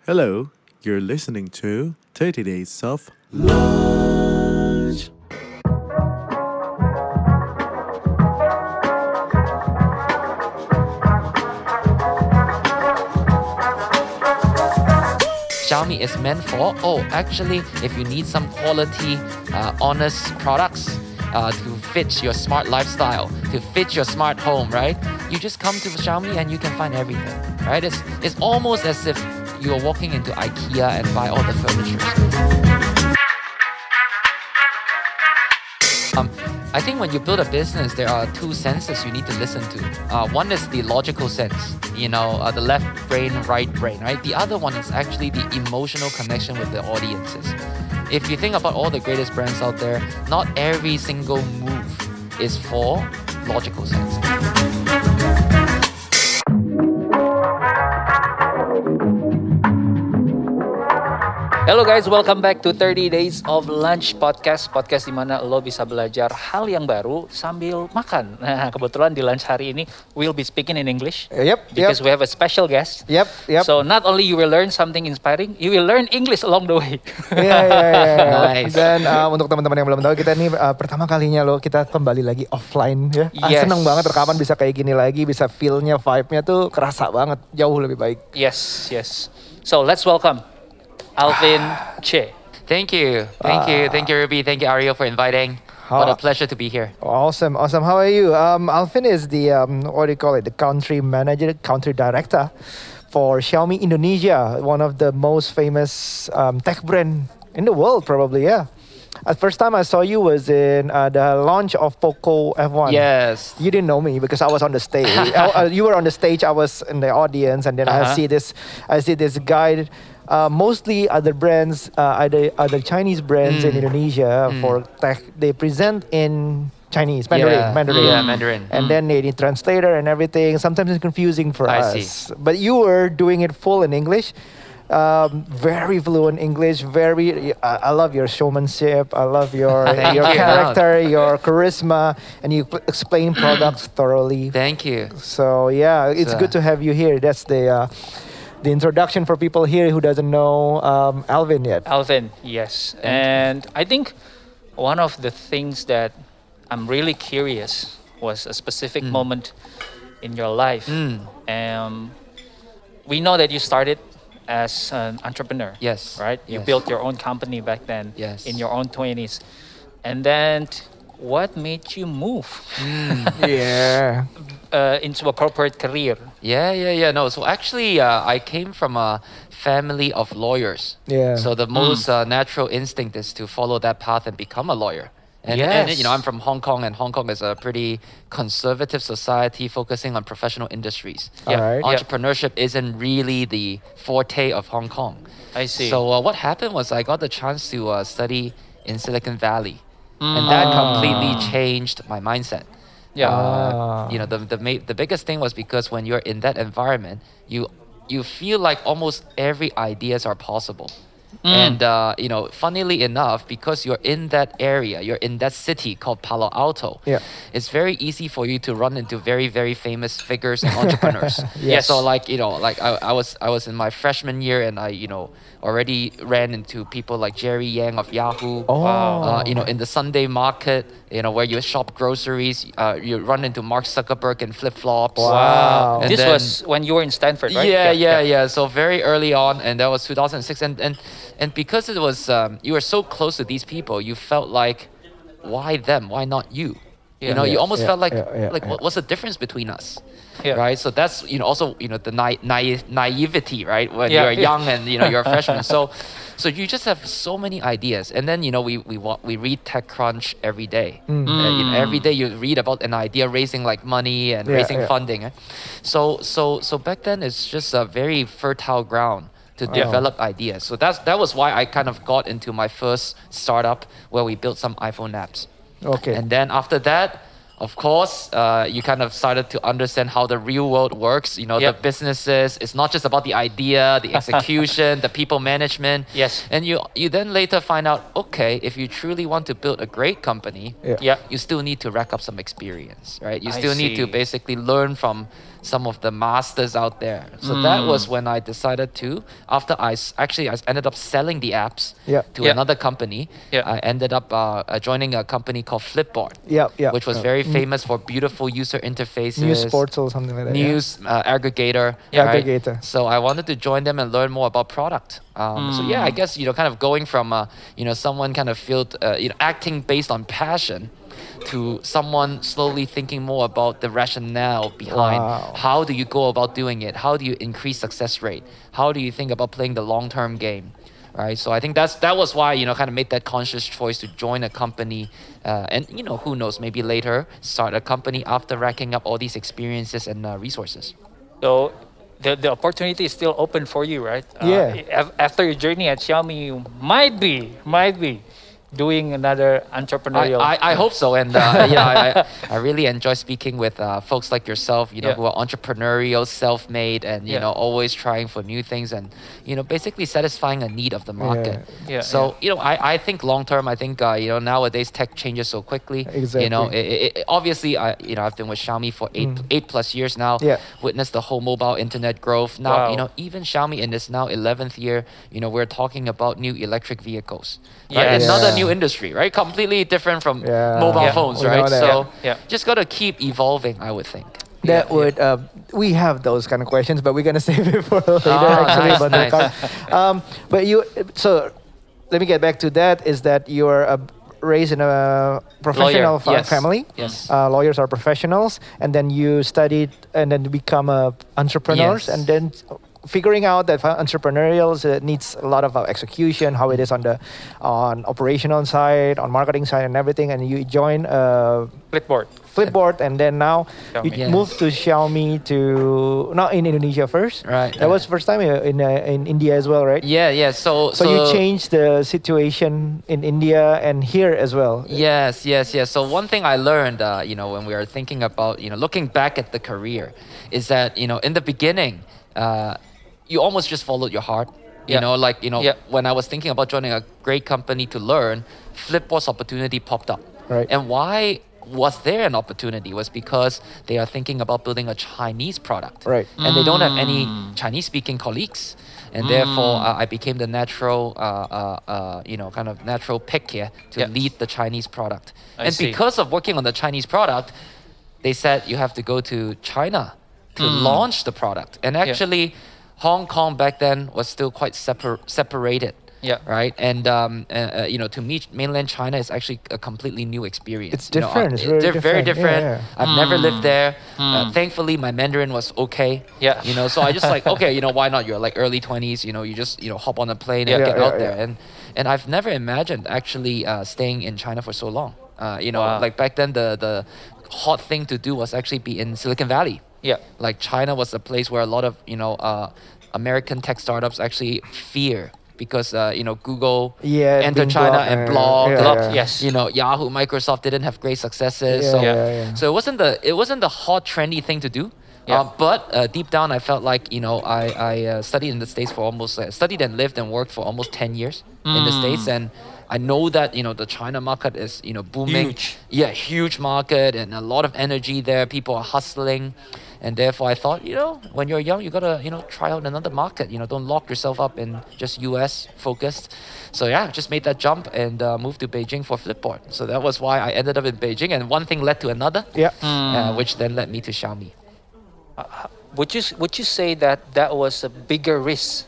Hello, you're listening to 30 Days of Lunch. Xiaomi is meant for, actually, if you need some quality, honest products to fit your smart lifestyle, to fit your smart home, right? You just come to Xiaomi and you can find everything, right? It's almost as if you're walking into IKEA and buy all the furniture. I think when you build a business, there are two senses you need to listen to. One is the logical sense, the left brain, right brain, right? The other one is actually the emotional connection with the audiences. If you think about all the greatest brands out there, not every single move is for logical sense. Hello guys, welcome back to 30 Days of Lunch Podcast di mana lo bisa belajar hal yang baru sambil makan. Nah, kebetulan di lunch hari ini we'll be speaking in English. Because we have a special guest. Yep. So not only you will learn something inspiring, you will learn English along the way. Nice. Dan untuk teman-teman yang belum tahu, kita ini pertama kalinya kita kembali lagi offline ya. Yes. Seneng banget rekaman bisa kayak gini lagi, bisa feel-nya, vibe-nya tuh kerasa banget, jauh lebih baik. Yes. So let's welcome Alvin Che. Thank you, Ruby. Thank you, Ariel, for inviting. What a pleasure to be here. Awesome. How are you? Alvin is the the country manager, country director for Xiaomi Indonesia, one of the most famous tech brand in the world, probably. Yeah. The first time I saw you was in the launch of Poco F1. Yes. You didn't know me because I was on the stage. You were on the stage. I was in the audience, and then I see this guy. Mostly other brands, other Chinese brands in Indonesia for tech. They present in Chinese, Mandarin. Yeah, Mandarin. And then they need translator and everything. Sometimes it's confusing for us. See. But you were doing it full in English. Very fluent English. I love your showmanship. I love your character, your charisma, and you explain products thoroughly. Thank you. So yeah, it's good to have you here. That's the introduction for people here who doesn't know Alvin yet. Alvin, yes. And I think one of the things that I'm really curious was a specific moment in your life. We know that you started as an entrepreneur. Yes. Right? You Yes. built your own company back then in your own 20s. And then what made you move into a corporate career? Yeah. No, so actually, I came from a family of lawyers. Yeah. So the most natural instinct is to follow that path and become a lawyer. And I'm from Hong Kong, and Hong Kong is a pretty conservative society focusing on professional industries. Alright. Entrepreneurship isn't really the forte of Hong Kong. I see. So what happened was I got the chance to study in Silicon Valley. And that completely changed my mindset. The biggest thing was because when you're in that environment, you feel like almost every ideas are possible. And funnily enough, because you're in that area, you're in that city called Palo Alto, it's very easy for you to run into very, very famous figures and entrepreneurs. Yes. So I was in my freshman year, and I already ran into people like Jerry Yang of Yahoo. In the Sunday market, where you shop groceries, you run into Mark Zuckerberg in flip-flops. Wow. And This then- was when you were in Stanford, right? Yeah. So very early on, and that was 2006, and because it was you were so close to these people, you felt like, why them? Why not you? You almost felt like what's the difference between us? Yeah. Right. So that's also the naivety, right? When you're young and you're a freshman. So you just have so many ideas, and then we read TechCrunch every day. Every day you read about an idea raising money and raising funding. So back then it's just a very fertile ground to develop ideas. So that was why I kind of got into my first startup where we built some iPhone apps. Okay. And then after that, of course, you kind of started to understand how the real world works. The businesses. It's not just about the idea, the execution, the people management. Yes. And you then later find out, okay, if you truly want to build a great company, you still need to rack up some experience, right? You still need to basically learn from some of the masters out there. So that was when I decided to, after I ended up selling the apps to another company. I ended up joining a company called Flipboard, which was very famous for beautiful user interfaces. News portal or something like that. News aggregator. Right? Aggregator. So I wanted to join them and learn more about product. So yeah, I guess, kind of going from, someone kind of acting based on passion to someone slowly thinking more about the rationale behind how do you go about doing it? How do you increase success rate? How do you think about playing the long-term game? Right, so I think that was why kind of made that conscious choice to join a company, and who knows, maybe later start a company after racking up all these experiences and resources. So the opportunity is still open for you, right? After your journey at Xiaomi, you might be doing another entrepreneurial. I hope so, and I really enjoy speaking with folks like yourself, who are entrepreneurial, self-made, and always trying for new things, and basically satisfying a need of the market. So I think long term, I think nowadays tech changes so quickly. Exactly. Obviously, I've been with Xiaomi for 8+ years now. Witnessed the whole mobile internet growth. Now even Xiaomi in this now 11th year, we're talking about new electric vehicles. Right? Another new industry, right? Completely different from mobile phones, right? So just got to keep evolving, I would think. That would we have those kind of questions, but we're gonna save it for later. Actually, Nice. But so let me get back to that. Is that you're raised in a professional family? Yes. Lawyers are professionals, and then you studied and then become entrepreneurs, and then figuring out that entrepreneurial needs a lot of execution, how it is on operational side, on marketing side, and everything. And you join Flipboard, and then now you moved to Xiaomi not in Indonesia first. Right. That was first time in India as well, right? Yeah. So you changed the situation in India and here as well. Yes. So one thing I learned, when we were thinking about, looking back at the career, is that in the beginning, you almost just followed your heart. When I was thinking about joining a great company to learn, Flipboard's opportunity popped up. Right. And why was there an opportunity was because they are thinking about building a Chinese product. Right. And they don't have any Chinese-speaking colleagues. And therefore, I became the natural, kind of natural pick here to lead the Chinese product. Because of working on the Chinese product, they said you have to go to China to launch the product. And actually, Hong Kong back then was still quite separated. Right. And to me, mainland China is actually a completely new experience. It's different. It's very different. I've never lived there. Thankfully, my Mandarin was okay. So I just why not? You're like early 20s. You just hop on a plane and get out there. And I've never imagined actually staying in China for so long. Like back then, the hot thing to do was actually be in Silicon Valley. Like China was a place where a lot of American tech startups actually fear. Because Google entered China and blogged. Yahoo, Microsoft didn't have great successes. So it wasn't the hot trendy thing to do. But deep down, I felt like I studied in the States for studied and lived and worked for almost 10 years in the States, and I know that the China market is booming. Huge market and a lot of energy there. People are hustling. And therefore, I thought, when you're young, you gotta, try out another market. Don't lock yourself up in just US focused. So just made that jump and moved to Beijing for Flipboard. So that was why I ended up in Beijing, and one thing led to another. Which then led me to Xiaomi. Would you say that was a bigger risk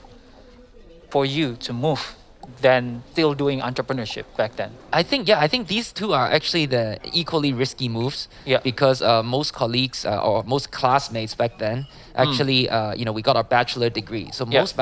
for you to move than still doing entrepreneurship back then? I think these two are actually the equally risky moves. Because most colleagues or most classmates back then actually, we got our bachelor degree. So most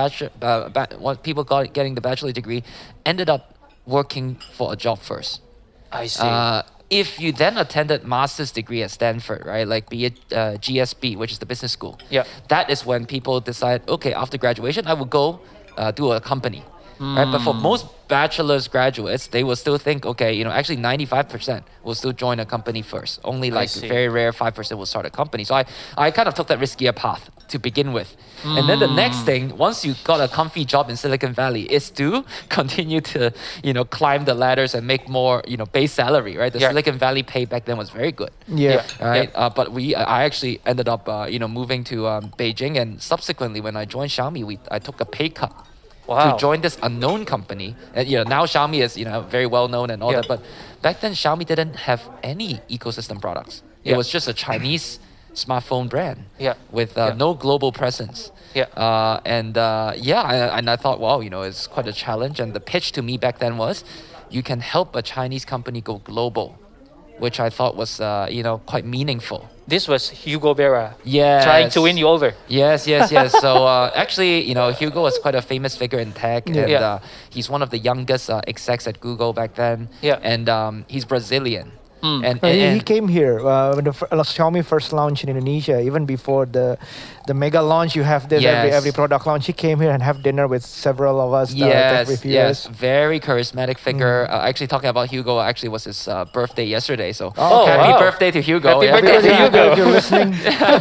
people getting the bachelor degree ended up working for a job first. I see. If you then attended master's degree at Stanford, right, like be it GSB, which is the business school, that is when people decide, okay, after graduation, I will go do a company. Right? But for most bachelor's graduates, they will still think, okay, actually 95% will still join a company first. Only like very rare 5% will start a company. So I kind of took that riskier path. to begin with. And then the next thing, once you got a comfy job in Silicon Valley, is to continue to, climb the ladders and make more, base salary, right? The Silicon Valley pay back then was very good. Yeah. Right. But I actually ended up, moving to Beijing, and subsequently when I joined Xiaomi, I took a pay cut. Wow. To join this unknown company. And, now Xiaomi is, very well known and all that. But back then, Xiaomi didn't have any ecosystem products. It was just a Chinese smartphone brand with no global presence. And I thought, wow, it's quite a challenge. And the pitch to me back then was, you can help a Chinese company go global, which I thought was, quite meaningful. This was Hugo Berra Yes. trying to win you over. Yes. So actually, Hugo was quite a famous figure in tech, and he's one of the youngest execs at Google back then. And he's Brazilian. And he came here when the Xiaomi first launched in Indonesia. Even before the mega launch, you have this every product launch. He came here and have dinner with several of us. Tech reviewers. Very charismatic figure. Actually, talking about Hugo, actually was his birthday yesterday. So happy birthday to Hugo! Happy birthday to Hugo if you're listening.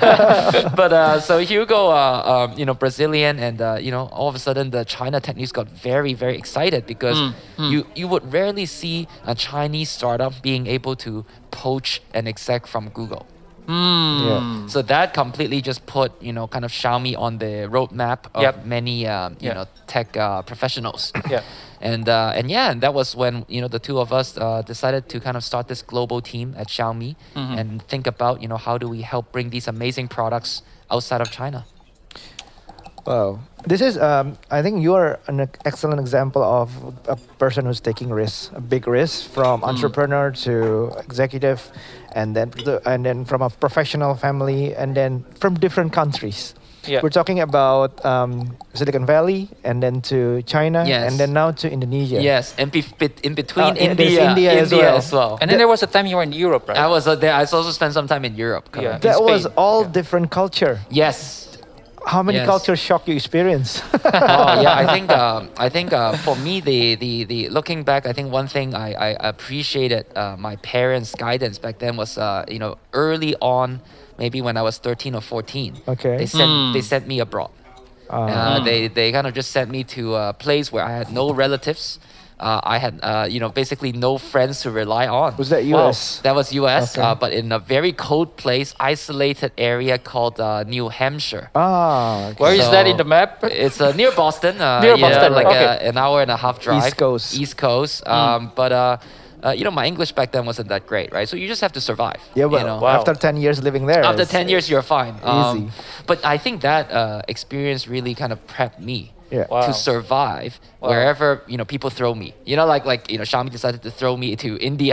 But so Hugo, Brazilian, and all of a sudden the China tech news got very, very excited because you would rarely see a Chinese startup being able to poach an exec from Google. So that completely just put kind of Xiaomi on the roadmap of many tech professionals. And that was when the two of us decided to kind of start this global team at Xiaomi and think about how do we help bring these amazing products outside of China. Wow. This is, I think you are an excellent example of a person who's taking risks, a big risk from entrepreneur to executive, and then from a professional family, and then from different countries. We're talking about Silicon Valley, and then to China, and then now to Indonesia. Yes, and in between India as well. And then there was a time you were in Europe, right? I was there. I also spent some time in Europe. That was all different culture. Yes. How many culture shock you experienced? I think for me, the looking back, I think one thing I appreciated my parents' guidance back then was early on, maybe when I was 13 or 14. Okay. They sent me abroad. They kind of just sent me to a place where I had no relatives. I had, basically no friends to rely on. Was that US? That was US, Okay. but in a very cold place, isolated area called New Hampshire. Okay. Where is that in the map? It's near Boston. Near Boston, like okay. an hour and a half drive. East Coast. But my English back then wasn't that great, right? So you just have to survive. Yeah, well, after 10 years living there. After 10 years, you're fine. Easy. But I think that experience really kind of prepped me Wow. to survive wherever people throw me. Xiaomi decided to throw me to India,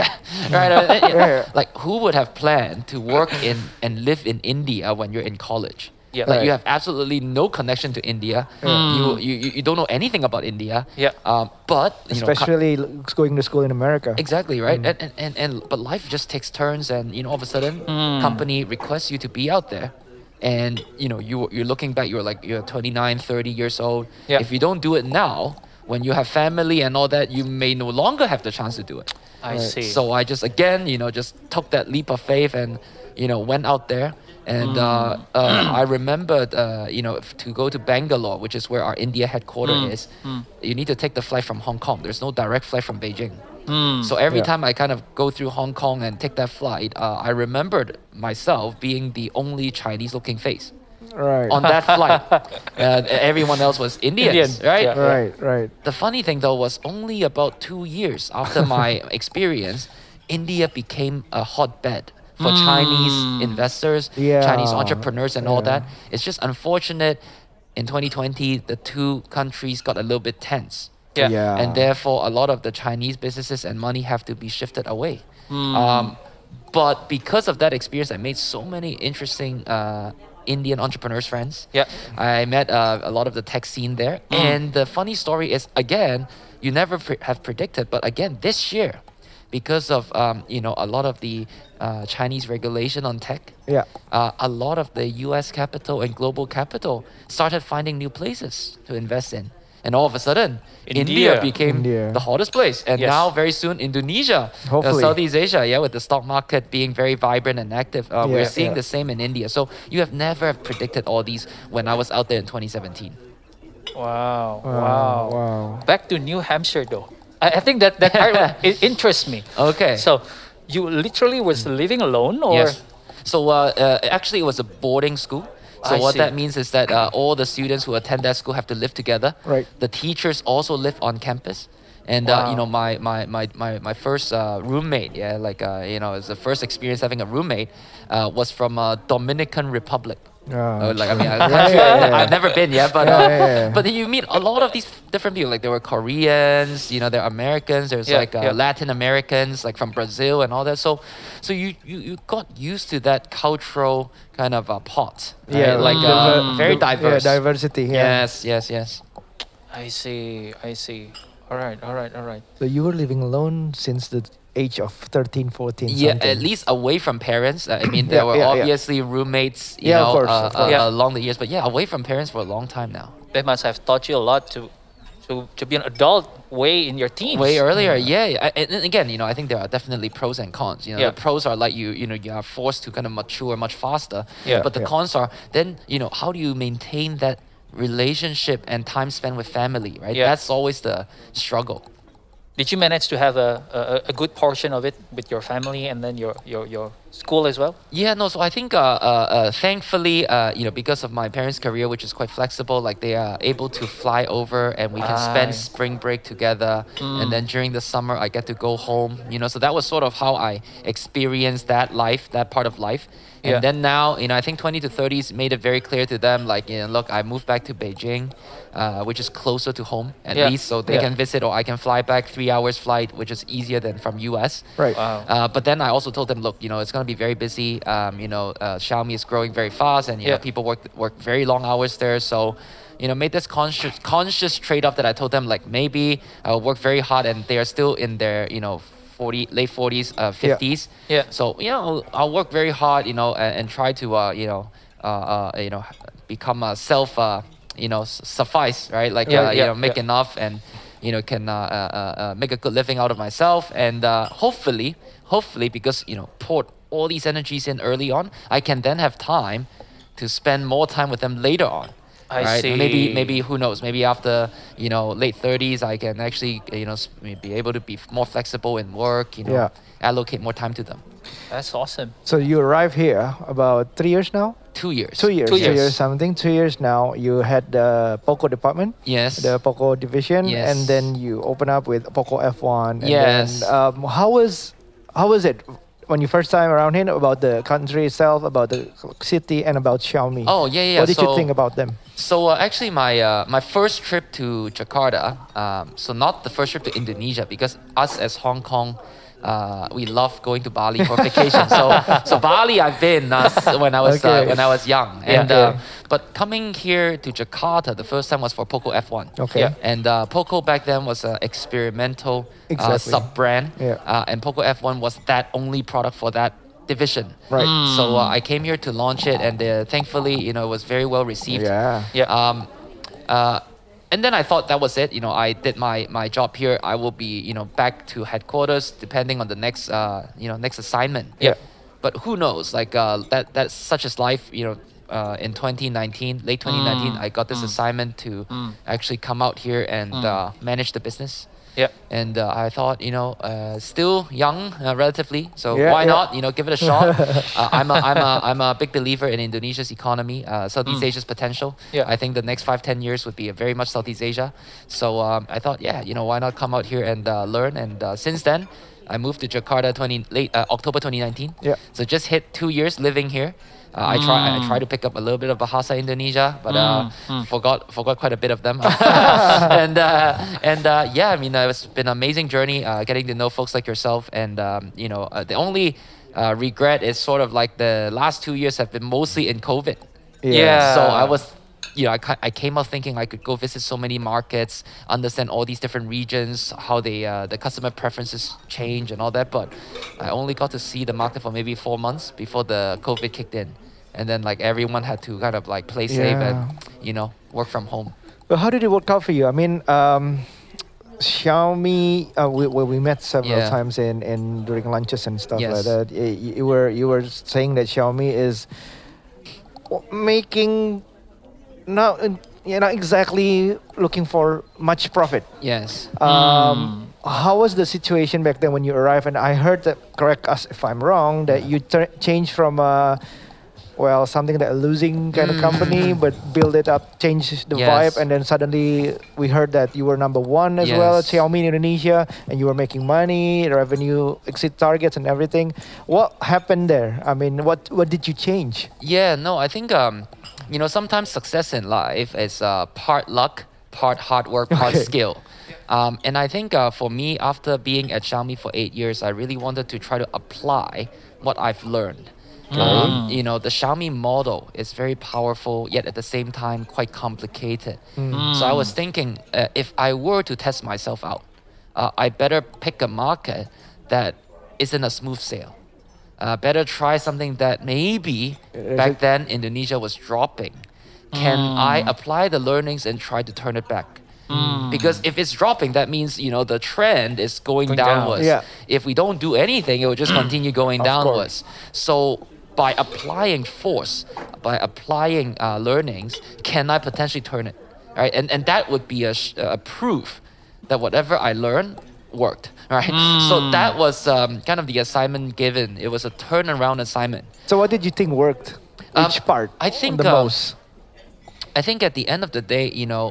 right? Like who would have planned to work in and live in India when you're in college? Like you have absolutely no connection to India. You don't know anything about India. But especially going to school in America. Exactly, right? But life just takes turns, and all of a sudden, company requests you to be out there. And you're looking back, you're 29, 30 years old. If you don't do it now, when you have family and all that, you may no longer have the chance to do it. I see. So I just just took that leap of faith and went out there. And I remembered, to go to Bangalore, which is where our India headquarters is, you need to take the flight from Hong Kong. There's no direct flight from Beijing. So every time I kind of go through Hong Kong and take that flight, I remembered myself being the only Chinese-looking face on that flight. Everyone else was Indians, right? Right. The funny thing, though, was only about 2 years after my experience, India became a hotbed for Chinese investors, Chinese entrepreneurs, and all that. It's just unfortunate. In 2020, the two countries got a little bit tense. And therefore, a lot of the Chinese businesses and money have to be shifted away. But because of that experience, I made so many interesting Indian entrepreneurs friends. I met a lot of the tech scene there. And the funny story is, again, you never have predicted, but again, this year, because of a lot of the Chinese regulation on tech, a lot of the U.S. capital and global capital started finding new places to invest in. and all of a sudden, India. India became India. the hottest place, and Yes. now very soon Indonesia, Hopefully. Southeast Asia, with the stock market being very vibrant and active. We're seeing yeah. the same in India. So you have never predicted all these when I was out there in 2017. Wow. Wow. Back to New Hampshire though. I think that part it interests me. Okay. So you literally was living alone, or Yes. So actually, it was a boarding school. So I what see. that means is that all the students who attend that school have to live together. Right. The teachers also live on campus. And Wow. my first roommate, it's the first experience having a roommate, was from Dominican Republic. Ah, A country I've never been yet, but Yeah. but then you meet a lot of these different people. Like there were Koreans, there are Americans. There's Latin Americans, like from Brazil and all that. So you got used to that cultural kind of pot. Right? Yeah, Very diverse. Yeah, diversity. Yeah. Yes. I see. All right. So you were living alone since the age of 13, 14. Yeah, something. at least away from parents. I mean, there were yeah. obviously roommates, Yeah, of course, of course. along the years. But yeah, away from parents for a long time now. They must have taught you a lot to be an adult way in your teens. Way earlier, yeah. And again, I think there are definitely pros and cons. Yeah. The pros are like you are forced to kind of mature much faster. Yeah. But the cons are then, how do you maintain that relationship and time spent with family, right? Yeah. That's always the struggle. Did you manage to have a good portion of it with your family and then your school as well? Yeah, no. So I think, thankfully, because of my parents' career, which is quite flexible, like they are able to fly over and we can spend spring break together. And then during the summer, I get to go home. So that was sort of how I experienced that part of life. And Yeah. then now, I think 20 to 30s made it very clear to them, like, look, I moved back to Beijing, which is closer to home at Yeah. least, so they Yeah. can visit, or I can fly back 3 hours flight, which is easier than from US. Right. Wow. But then I also told them, look, it's going to be very busy. Xiaomi is growing very fast, and people work very long hours there. So, made this conscious trade-off that I told them, like maybe I'll work very hard, and they are still in their late 40s, 50s. Yeah. So I'll work very hard, and try to become a self suffice, right? Like make enough and can make a good living out of myself, and hopefully because poured all these energies in early on, I can then have time to spend more time with them later on. I Right? see. Maybe who knows? Maybe after late 30s, I can actually be able to be more flexible in work. Yeah. Allocate more time to them. That's awesome. So you arrived here about 3 years now? 2 years. 2 years. 2 2 years. years something. 2 years now. You had the Poco department, Yes. the Poco division, Yes. and then you open up with Poco F1. And Yes. Then, how was it when you first time around here, about the country itself, about the city, and about Xiaomi? Oh yeah. What did you So- think about them? So actually, my first trip to Jakarta, so not the first trip to Indonesia, because us as Hong Kong, we love going to Bali for vacation. So Bali I've been when I was Okay. young, and but coming here to Jakarta, the first time was for Poco F1. Okay. Yeah. And Poco back then was an experimental Exactly. sub-brand, Yeah. and Poco F1 was that only product for that division. Right. So I came here to launch it, and thankfully, it was very well received. Yeah. Yeah. And then I thought that was it. I did my job here. I will be, back to headquarters depending on the next, next assignment. Yeah. But who knows? Like that's such as life. In 2019, late 2019, I got this assignment to actually come out here and manage the business. Yeah. And I thought, still young, relatively, so Yeah, why yeah. not, give it a shot. I'm a big believer in Indonesia's economy, Southeast Asia's potential. Yeah. I think the next 5-10 years would be very much Southeast Asia. So I thought, why not come out here and learn? And since then, I moved to Jakarta October 2019. Yeah. So just hit 2 years living here. I try to pick up a little bit of Bahasa Indonesia, but forgot quite a bit of them. and yeah, I mean, it's been an amazing journey getting to know folks like yourself. And the only regret is sort of like the last 2 years have been mostly in COVID. Yeah. So I was, I came out thinking I could go visit so many markets, understand all these different regions, how they the customer preferences change and all that. But I only got to see the market for maybe 4 months before the COVID kicked in, and then like everyone had to kind of like play safe and work from home. Well, how did it work out for you? I mean, Xiaomi. We met several Yeah. times in during lunches and stuff like Yes. that. You were saying that Xiaomi is making not you're not exactly looking for much profit. Yes. How was the situation back then when you arrived? And I heard that, correct us if I'm wrong, that you changed from something that a losing kind of company, but build it up, change the Yes. vibe, and then suddenly we heard that you were number one as well at Yes. Xiaomi in Indonesia, and you were making money, revenue exceed targets and everything. What happened there? I mean, what did you change? Yeah, no, I think sometimes success in life is part luck, part hard work, part Okay. skill. And I think for me, after being at Xiaomi for 8 years, I really wanted to try to apply what I've learned. The Xiaomi model is very powerful, yet at the same time quite complicated. So I was thinking, if I were to test myself out, I better pick a market that isn't a smooth sail. Better try something that maybe back then Indonesia was dropping. Can I apply the learnings and try to turn it back? Because if it's dropping, that means the trend is going Going down. downwards. Yeah. If we don't do anything, it will just continue going Of downwards. So by applying force, by applying learnings, can I potentially turn it? Right, and that would be a proof that whatever I learned worked. Right, so that was kind of the assignment given. It was a turnaround assignment. So what did you think worked? Which part? I think, the most. I think at the end of the day,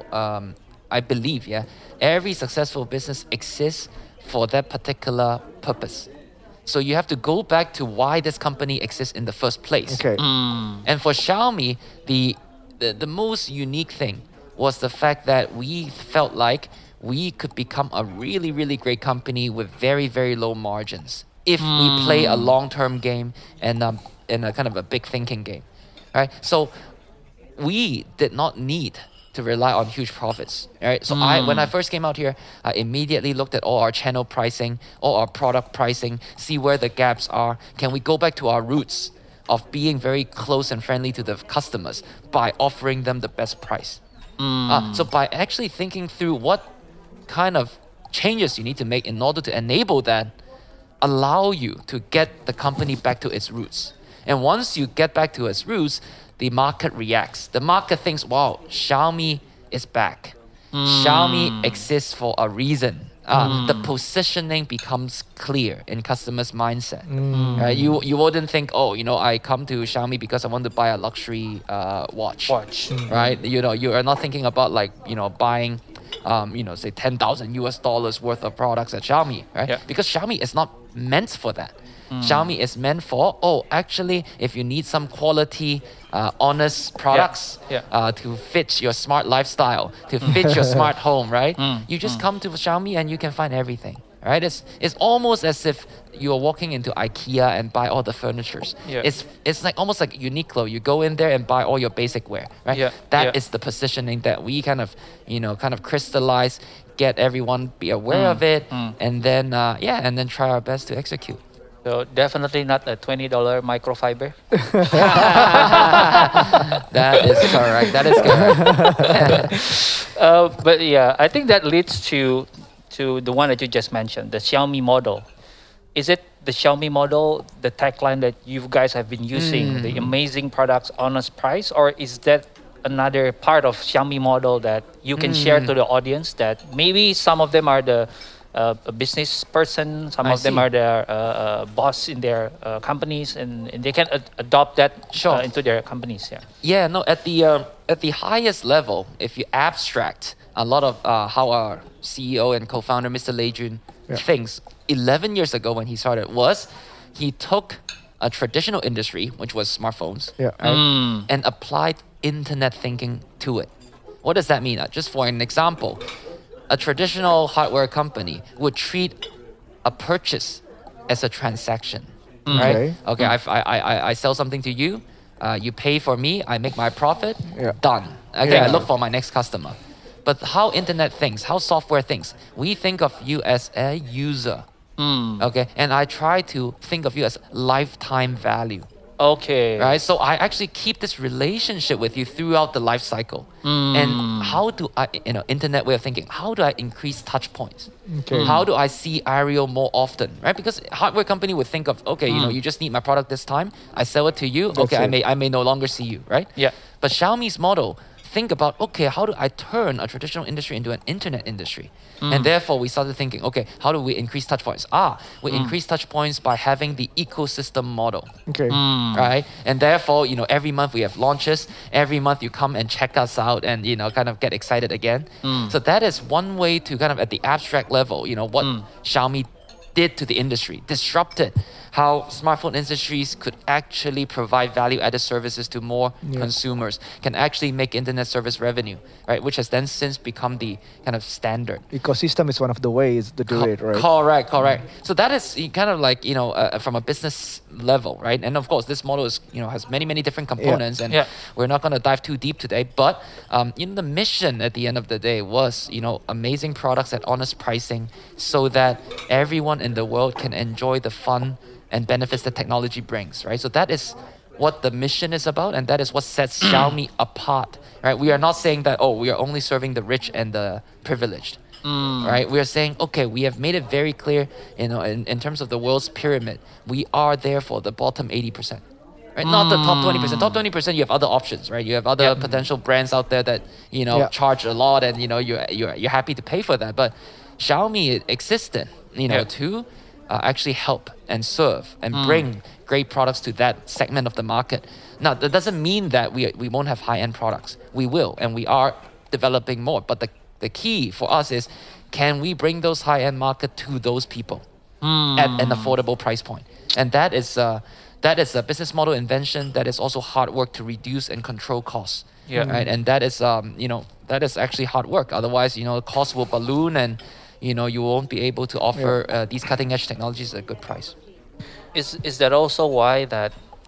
I believe, every successful business exists for that particular purpose. So you have to go back to why this company exists in the first place. Okay. And for Xiaomi, the most unique thing was the fact that we felt like we could become a really, really great company with very, very low margins if we play a long-term game and a kind of a big thinking game, right? So we did not need to rely on huge profits, right? So when I first came out here, I immediately looked at all our channel pricing, all our product pricing, see where the gaps are. Can we go back to our roots of being very close and friendly to the customers by offering them the best price? So by actually thinking through what kind of changes you need to make in order to enable that, allow you to get the company back to its roots. And once you get back to its roots, the market reacts. The market thinks, wow, Xiaomi is back. Xiaomi exists for a reason. The positioning becomes clear in customers' mindset. Right? You wouldn't think, I come to Xiaomi because I want to buy a luxury watch. Right? You are not thinking about buying say $10,000 worth of products at Xiaomi, right? Yeah. Because Xiaomi is not meant for that. Xiaomi is meant for, actually, if you need some quality, honest products to fit your smart lifestyle, to fit your smart home, right? You just come to Xiaomi and you can find everything, right? It's almost as if you're walking into IKEA and buy all the furnitures. Yeah. It's like almost like Uniqlo. You go in there and buy all your basic wear, right? Yeah. That is the positioning that we kind of crystallize, get everyone be aware of it, and then try our best to execute. So definitely not a $20 microfiber. That is correct. That is correct. But yeah, I think that leads to the one that you just mentioned, the Xiaomi model. Is it the Xiaomi model, the tagline that you guys have been using, the amazing products, honest price, or is that another part of Xiaomi model that you can share to the audience that maybe some of them are the a business person, some I of them see. are their boss in their companies, and they can adopt that Sure. into their companies. Yeah. Yeah, no. At the highest level, if you abstract a lot of how our CEO and co-founder, Mr. Lei Jun, thinks 11 years ago when he started, was he took a traditional industry, which was smartphones, right, and applied internet thinking to it. What does that mean? Just for an example, a traditional hardware company would treat a purchase as a transaction, right? Okay, I sell something to you, you pay for me, I make my profit, done. Okay, I look for my next customer. But how internet thinks, how software thinks, we think of you as a user, okay? And I try to think of you as lifetime value. Okay. Right, so I actually keep this relationship with you throughout the life cycle. And how do I, internet way of thinking, how do I increase touch points? Okay. How do I see Ariel more often, right? Because hardware company would think of, okay, you just need my product this time, I sell it to you, okay, it. I may no longer see you, right? Yeah. But Xiaomi's model, think about, okay, how do I turn a traditional industry into an internet industry? And therefore, we started thinking, okay, how do we increase touch points? We increase touch points by having the ecosystem model, Okay. right? And therefore, every month we have launches. Every month you come and check us out and, kind of get excited again. So that is one way to kind of at the abstract level, what Xiaomi did to the industry, disrupted how smartphone industries could actually provide value-added services to more consumers, can actually make internet service revenue, right? Which has then since become the kind of standard. Ecosystem is one of the ways to do it, right? Correct. So that is kind of like, from a business level, right? And of course, this model is, has many different components, and we're not going to dive too deep today. But, the mission at the end of the day was, amazing products at honest pricing so that everyone in the world can enjoy the fun and benefits that technology brings, right? So that is what the mission is about, and that is what sets Xiaomi apart, right? We are not saying that, we are only serving the rich and the privileged, right? We are saying, okay, we have made it very clear, in terms of the world's pyramid, we are there for the bottom 80%. Right? Not the top 20%. Top 20%, you have other options, right? You have other potential brands out there that, charge a lot, and, you're happy to pay for that. But Xiaomi existed, to actually help and serve and bring great products to that segment of the market. Now, that doesn't mean that we won't have high-end products. We will, and we are developing more. But the key for us is, can we bring those high-end market to those people at an affordable price point? And that is a business model invention. That is also hard work to reduce and control costs. Yeah. Right. And that is that is actually hard work. Otherwise, costs will balloon, and you won't be able to offer these cutting edge technologies at a good price. Is that also why that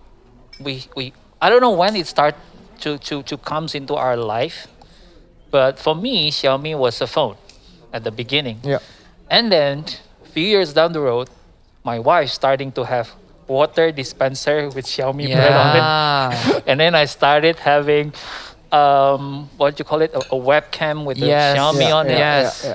we I don't know when it start to comes into our life, but for me, Xiaomi was a phone at the beginning. Yeah. And then a few years down the road, my wife starting to have water dispenser with Xiaomi brand on it. And then I started having what you call it, a webcam with the Xiaomi on it.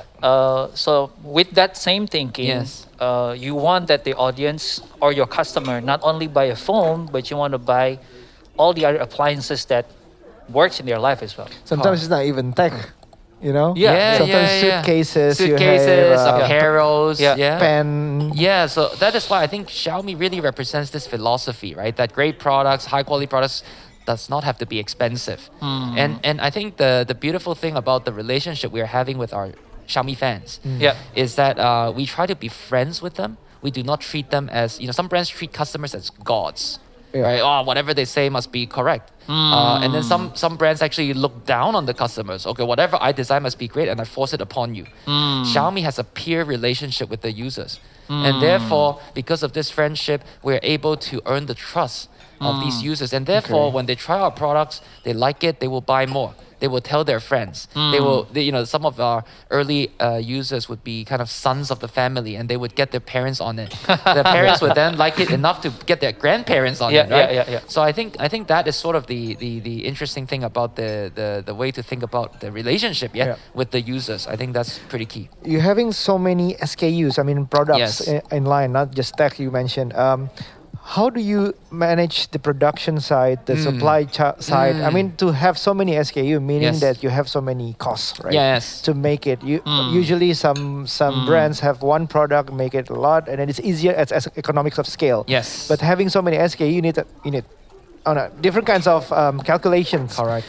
So with that same thinking, you want that the audience or your customer not only buy a phone, but you want to buy all the other appliances that works in their life as well. Sometimes it's not even tech, Yeah. Sometimes suitcases, you suitcases, have, apparels, pen. Yeah, so that is why I think Xiaomi really represents this philosophy, right? That great products, high quality products does not have to be expensive. And I think the beautiful thing about the relationship we are having with our Xiaomi fans is that we try to be friends with them. We do not treat them as, some brands treat customers as gods. Right? Whatever they say must be correct. And then some brands actually look down on the customers. Okay, whatever I design must be great, and I force it upon you. Xiaomi has a peer relationship with the users. And therefore, because of this friendship, we're able to earn the trust of these users. And therefore, when they try our products, they like it, they will buy more. They will tell their friends. Some of our early users would be kind of sons of the family, and they would get their parents on it. Their parents would then like it enough to get their grandparents on it, right? So I think that is sort of the interesting thing about the way to think about the relationship, with the users. I think that's pretty key. You're having so many SKUs, products in line, not just tech you mentioned. How do you manage the production side, the supply side? To have so many SKU, meaning that you have so many costs, right? Yes. To make it, usually some brands have one product, make it a lot, and then it's easier as economics of scale. Yes. But having so many SKU, you need different kinds of calculations. Correct.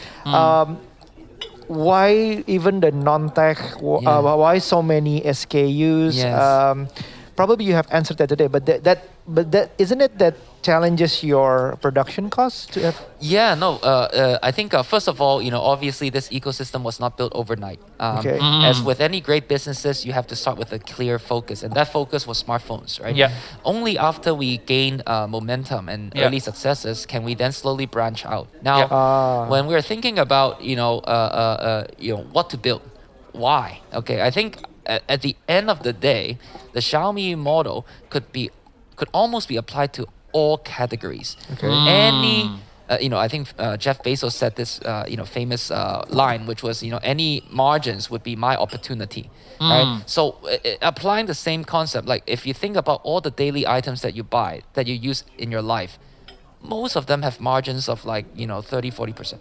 Why even the non-tech? Why so many SKUs? Yes. Probably you have answered that today, but that isn't it that challenges your production costs to have? Yeah, no. I think first of all, obviously this ecosystem was not built overnight. As with any great businesses, you have to start with a clear focus, and that focus was smartphones, right? Yeah. Only after we gain momentum and early successes can we then slowly branch out. Now, when we're thinking about what to build, why? Okay, I think at the end of the day, the Xiaomi model could almost be applied to all categories. Okay. Any I think Jeff Bezos said this, famous line, which was, any margins would be my opportunity, right? So applying the same concept, like if you think about all the daily items that you buy, that you use in your life, most of them have margins of like 30-40%.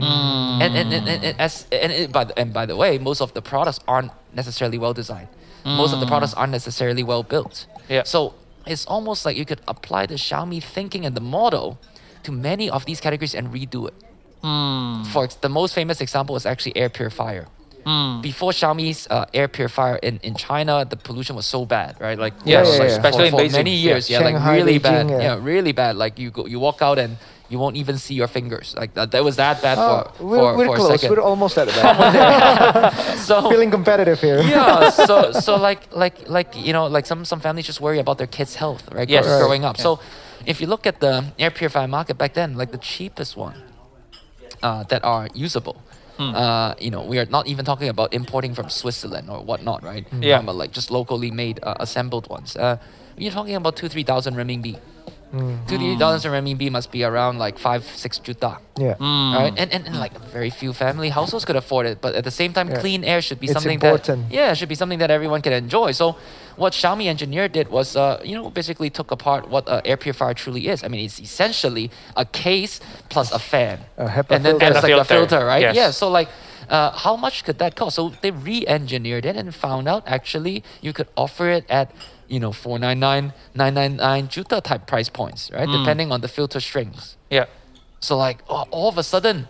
And by the way, most of the products aren't necessarily well designed. Most of the products aren't necessarily well built. Yeah. So it's almost like you could apply the Xiaomi thinking and the model to many of these categories and redo it. The most famous example is actually air purifier. Before Xiaomi's air purifier in China, the pollution was so bad, right? Like, especially for in Beijing. many years, Shanghai, like really Beijing, bad, really bad. Like you walk out and you won't even see your fingers. Like that was that bad we're for a close. second. We're almost at that. So Feeling competitive here. yeah, so like some families just worry about their kids' health, right? Yes. Right. Growing up. So if you look at the air purifier market back then, like the cheapest one that are usable. We are not even talking about importing from Switzerland or whatnot, right? Yeah. Talking about like just locally made, assembled ones. You're talking about 2,000-3,000 renminbi. 2,000-3,000 renminbi must be around like 5-6 juta. Yeah. Right? And like very few family households could afford it. But at the same time, clean air should be It's something important. should be something that everyone can enjoy. So what Xiaomi engineer did was, basically took apart what an air purifier truly is. I mean, it's essentially a case plus a fan. A HEPA and then filter. there's And a like a filter, filter, right? yes. Yeah. So like, how much could that cost? So they re-engineered it and found out actually you could offer it at 499, 999 juta type price points, right? Depending on the filter strings. Yeah. So like all of a sudden,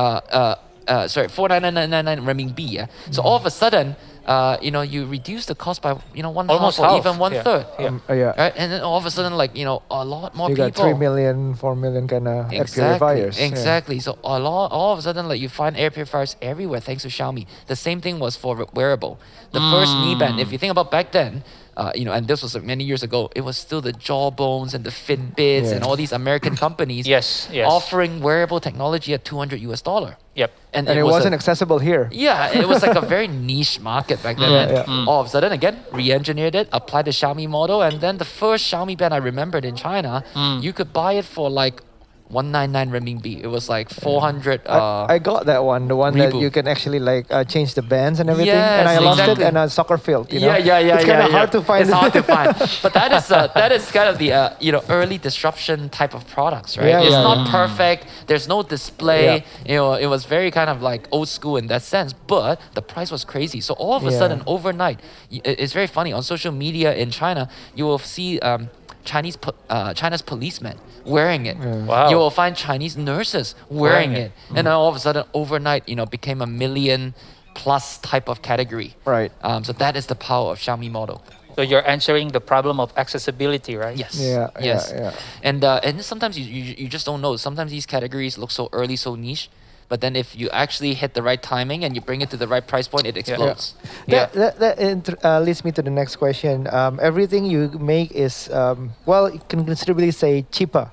49999 renminbi. Yeah. So all of a sudden, you reduce the cost by one Almost half or half. even one Yeah. third. Yeah. Right, and then all of a sudden, like a lot more You people. got 3 million, 4 million kind of air purifiers. Yeah. Exactly. So all of a sudden, like you find air purifiers everywhere thanks to Xiaomi. The same thing was for wearable. The first Mi Band, if you think about back then, and this was like many years ago, it was still the Jawbones and the Fitbits and all these American companies Yes. offering wearable technology at $200. Yep. And And it was wasn't accessible here. yeah, it was like a very niche market back then. And all of a sudden, again, re-engineered it, applied the Xiaomi model, and then the first Xiaomi band I remembered in China, you could buy it for like 199 renminbi. It was like 400. I got that one, the one that Reboot. you can actually like change the bands and everything. Yes, and I lost exactly. it in a soccer field. You know? Yeah. It's kind of hard to find. It's hard to find. But that is kind of the early disruption type of products, right? Yeah, It's yeah, not perfect. There's no display. It was very kind of like old school in that sense. But the price was crazy. So all of a sudden, overnight, it's very funny on social media in China. You will see China's policemen wearing it. Wow. You will find Chinese nurses wearing it. And then all of a sudden, overnight, became a million plus type of category. Right. So that is the power of Xiaomi model. So you're answering the problem of accessibility, right? Yes. Yeah, Yes. yeah. And sometimes you just don't know. Sometimes these categories look so early, so niche. But then if you actually hit the right timing and you bring it to the right price point, it explodes. That leads me to the next question. Everything you make is, you can considerably say cheaper.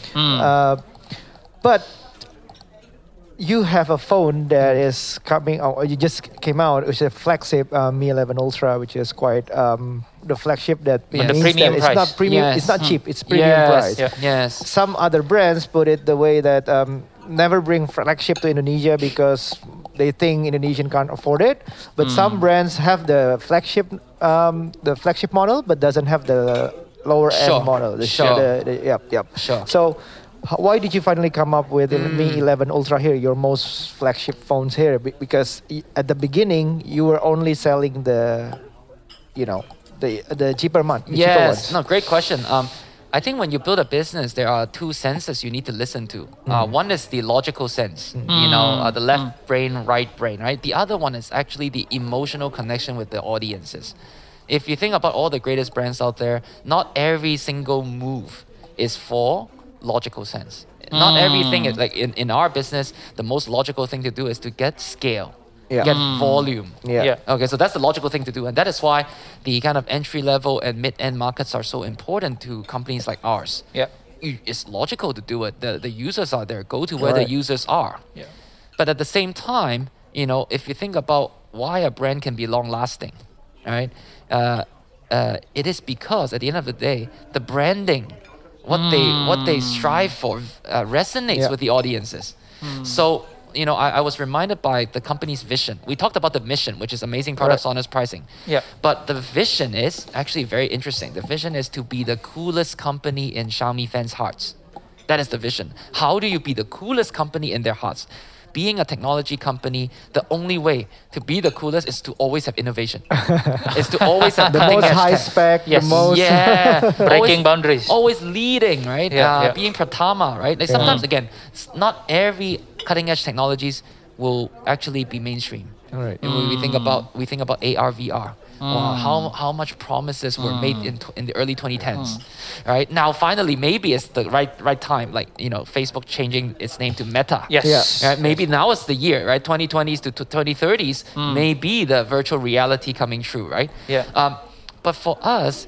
But you have a phone that is coming out, or you just came out, which is a flagship Mi 11 Ultra, which is quite the flagship that Yes. The means premium that price. it's not premium, Yes. it's not cheap, it's premium Yes. price. Yeah. Yes. Some other brands put it the way that never bring flagship to Indonesia because they think Indonesian can't afford it. But some brands have the flagship model, but doesn't have the lower Sure. end model. Sure. Yep. Sure. So, why did you finally come up with the Mi 11 Ultra here, your most flagship phones here? Because at the beginning you were only selling the cheaper ones. Yes. No, great question. I think when you build a business, there are two senses you need to listen to. One is the logical sense, the left brain, right brain, right? The other one is actually the emotional connection with the audiences. If you think about all the greatest brands out there, not every single move is for logical sense. Not everything is like in our business, the most logical thing to do is to get scale, get volume. Yeah. Okay, so that's the logical thing to do. And that is why the kind of entry level and mid-end markets are so important to companies like ours. Yeah. It's logical to do it. The users are there. Go to where the Right. users are. Yeah. But at the same time, if you think about why a brand can be long lasting, right? It is because at the end of the day, the branding what they strive for resonates with the audiences. So I was reminded by the company's vision. We talked about the mission, which is amazing products, honest pricing. Yeah. But the vision is actually very interesting. The vision is to be the coolest company in Xiaomi fans' hearts. That is the vision. How do you be the coolest company in their hearts? Being a technology company, the only way to be the coolest is to always have innovation. Is to always have The cutting most edge high tech. spec, Yes. the most Breaking boundaries. Always leading, right? Yeah. Being Pratama, right? Like sometimes, again, not every cutting edge technologies will actually be mainstream. Right. And we think about AR, VR. Wow, how much promises were made in the early 2010s, right? Now finally, maybe it's the right time. Like Facebook changing its name to Meta. Yes. Yeah. Right? Maybe now is the year, right? 2020s to 2030s may be the virtual reality coming true, right? Yeah. But for us,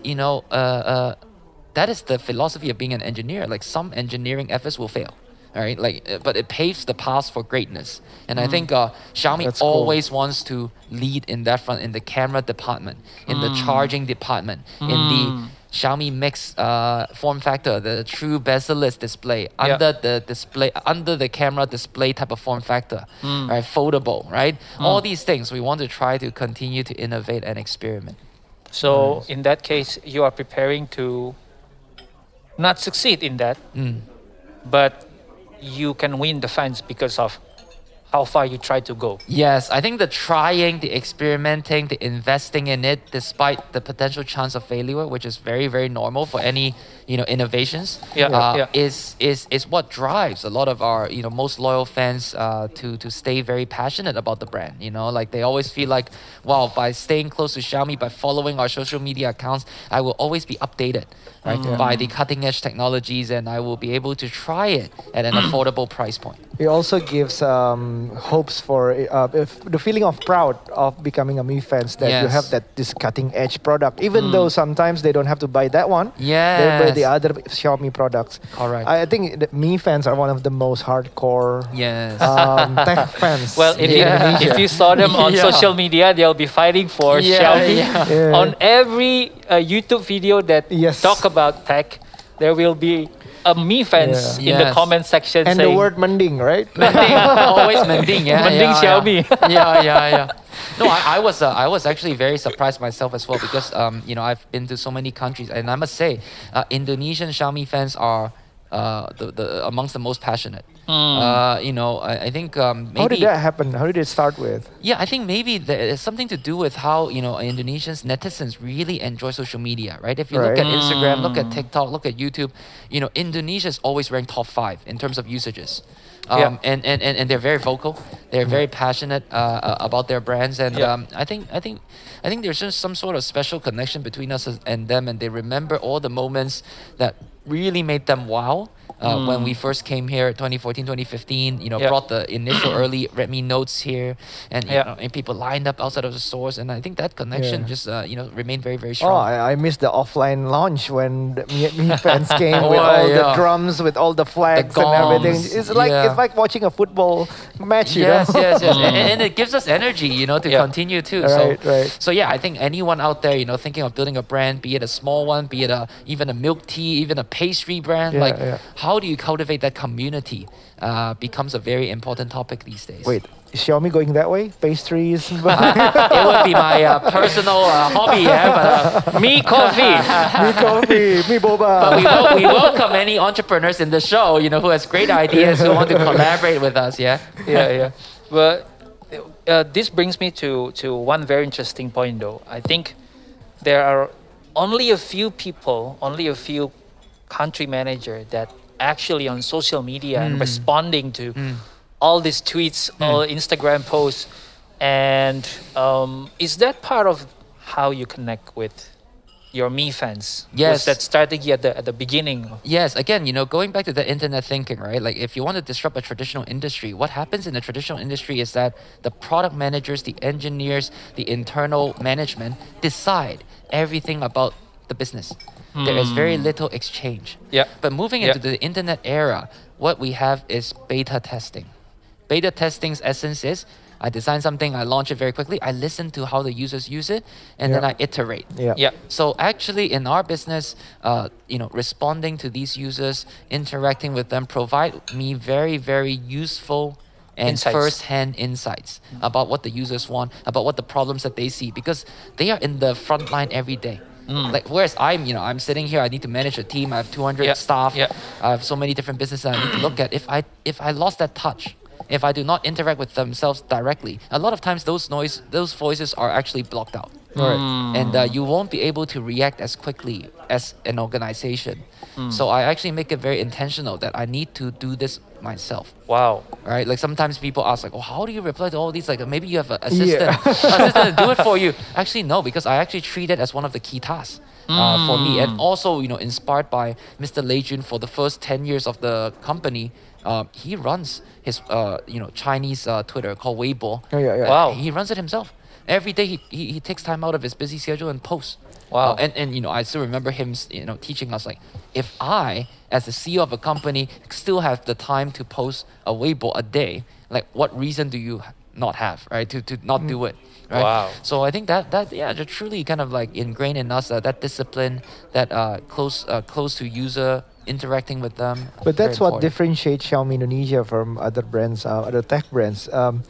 that is the philosophy of being an engineer. Like some engineering efforts will fail, right? But it paves the path for greatness. And I think Xiaomi That's cool. always wants to lead in that front, in the camera department, in the charging department, in the Xiaomi Mix form factor, the true bezel-less display, under the camera display type of form factor, right? Foldable, right? All these things we want to try to continue to innovate and experiment. So in that case, you are preparing to not succeed in that, but you can win the fans because of how far you try to go. Yes, I think the trying, the experimenting, the investing in it, despite the potential chance of failure, which is very, very normal for any innovations, is what drives a lot of our most loyal fans to stay very passionate about the brand. Like they always feel like, wow, by staying close to Xiaomi, by following our social media accounts, I will always be updated, right, by the cutting edge technologies, and I will be able to try it at an affordable price point. It also gives hopes for the feeling of proud of becoming a Mi fans that you have this cutting edge product, even though sometimes they don't have to buy that one. They buy the other Xiaomi products. Correct. I think that Mi fans are one of the most hardcore Yes. tech fans. Well, if you saw them on social media, they'll be fighting for Xiaomi. Yeah. On every YouTube video that talk about tech, there will be a Mi fans in the comment section and saying, the word mending, right? Always mending, yeah. Mending Xiaomi. Yeah. No, I was actually very surprised myself as well because I've been to so many countries, and I must say, Indonesian Xiaomi fans are the amongst the most passionate. I think maybe. How did that happen? How did it start with? Yeah, I think maybe there's something to do with how Indonesians, netizens really enjoy social media, right? If you look at Instagram, look at TikTok, look at YouTube, Indonesia is always ranked top 5 in terms of usages. And they're very vocal. They're very passionate about their brands, and I think there's just some sort of special connection between us and them, and they remember all the moments that really made them wow. When we first came here, 2014, 2015, brought the initial early Redmi Notes here, and and people lined up outside of the stores, and I think that connection just remained very, very strong. Oh, I missed the offline launch when the Mi fans came with all the drums, with all the flags and everything. It's like watching a football match. Yes. And it gives us energy, to continue too. Right. So yeah, I think anyone out there, thinking of building a brand, be it a small one, be it even a milk tea, even a pastry brand, how do you cultivate that community becomes a very important topic these days. Wait, is Xiaomi going that way? Pastries? It would be my personal hobby, but Mi coffee. Mi coffee, Mi boba. But we welcome any entrepreneurs in the show, who has great ideas, who want to collaborate with us, yeah? Well, this brings me to one very interesting point, though. I think there are only a few people, only a few country manager that actually on social media and responding to all these tweets, all Instagram posts, and is that part of how you connect with your Mi fans? Yes. Was that strategy at the beginning? Yes, again, going back to the internet thinking, right? Like if you want to disrupt a traditional industry, what happens in the traditional industry is that the product managers, the engineers, the internal management decide everything about the business. There is very little exchange. But moving into the internet era, what we have is beta testing. Beta testing's essence is I design something, I launch it very quickly. I listen to how the users use it, and then I iterate. Yeah. So actually, in our business, responding to these users, interacting with them, provide me very, very useful and Insights. first-hand insights about what the users want, about what the problems that they see, because they are in the front line every day. Like whereas I'm sitting here, I need to manage a team. I have 200 staff. Yeah. I have so many different businesses I need to look at. If I lost that touch, if I do not interact with themselves directly, a lot of times those voices are actually blocked out. And you won't be able to react as quickly as an organization. So I actually make it very intentional that I need to do this myself. Wow. Right? Like sometimes people ask like, oh, how do you reply to all these? Like maybe you have an assistant to do it for you. Actually, no, because I actually treat it as one of the key tasks for me. And also, inspired by Mr. Lei Jun for the first 10 years of the company, he runs his Chinese Twitter called Weibo. Wow. He runs it himself. Every day he takes time out of his busy schedule and posts. Wow. And I still remember him teaching us like, if I as the CEO of a company still have the time to post a Weibo a day, like what reason do you not have, right? To not do it. Right? Wow. So I think that they're truly kind of like ingrained in us, that discipline, that close to user, interacting with them. But that's Very what important. differentiates Xiaomi Indonesia from other brands, other tech brands.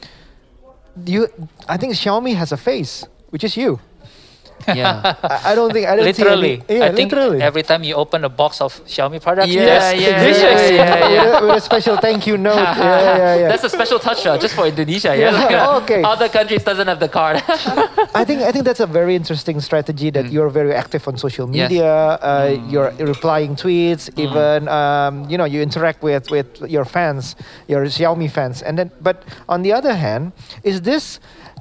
I think Xiaomi has a face, which is you. Yeah. I don't see Literally. any, yeah, I think literally. every time you open a box of Xiaomi products, Yeah, yeah. With a special thank you note. Yeah. That's a special touch just for Indonesia. Yeah. Yeah, okay. Other countries doesn't have the card. I think that's a very interesting strategy that you're very active on social Yes. media. You're replying tweets, even you interact with your fans, your Xiaomi fans. And then, but on the other hand, is this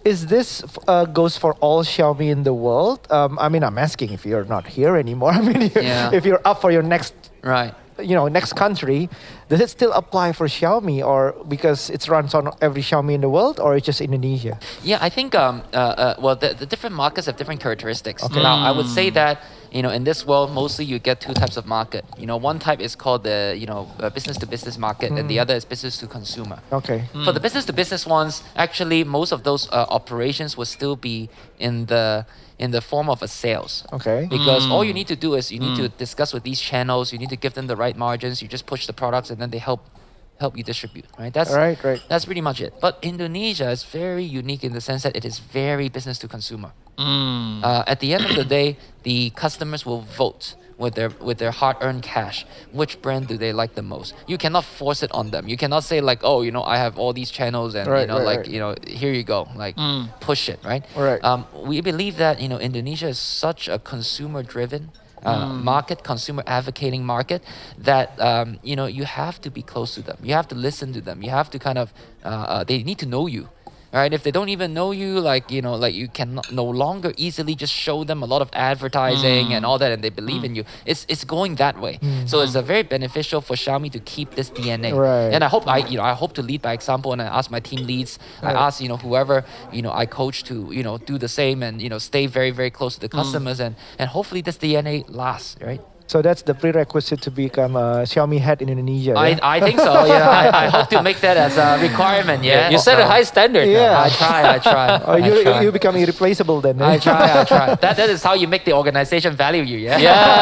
goes for all Xiaomi in the world? I'm asking if you're not here anymore. If you're up for your next Right. next country, does it still apply for Xiaomi, or because it runs on every Xiaomi in the world, or it's just Indonesia? Yeah, I think the different markets have different characteristics. Now, I would say that in this world, mostly you get two types of market. One type is called the business to business market, and the other is business to consumer. Okay. For the business to business ones, actually most of those operations will still be in the form of a sales. Okay. Because all you need to do is you need to discuss with these channels, you need to give them the right margins, you just push the products and then they help you distribute, right? That's Right. That's pretty much it. But Indonesia is very unique in the sense that it is very business to consumer. At the end of the day, the customers will vote with their hard-earned cash which brand do they like the most. You cannot force it on them. You cannot say like, oh, I have all these channels and here you go, like push it, right? Right. We believe that Indonesia is such a consumer-driven market, consumer advocating market, that you have to be close to them. You have to listen to them. You have to kind of they need to know you. Right? If they don't even know you, you can no longer easily just show them a lot of advertising and all that, and they believe in you. It's going that way. So it's very beneficial for Xiaomi to keep this DNA. Right. And I hope to lead by example, and I ask my team leads, I ask whoever I coach to do the same, and stay very, very close to the customers, and hopefully this DNA lasts, right? So that's the prerequisite to become a Xiaomi head in Indonesia. Yeah? I think so. Yeah, I hope to make that as a requirement. Yeah, You set a high standard. Yeah. I try. Oh, you become irreplaceable then. I try. That is how you make the organization value you. Yeah.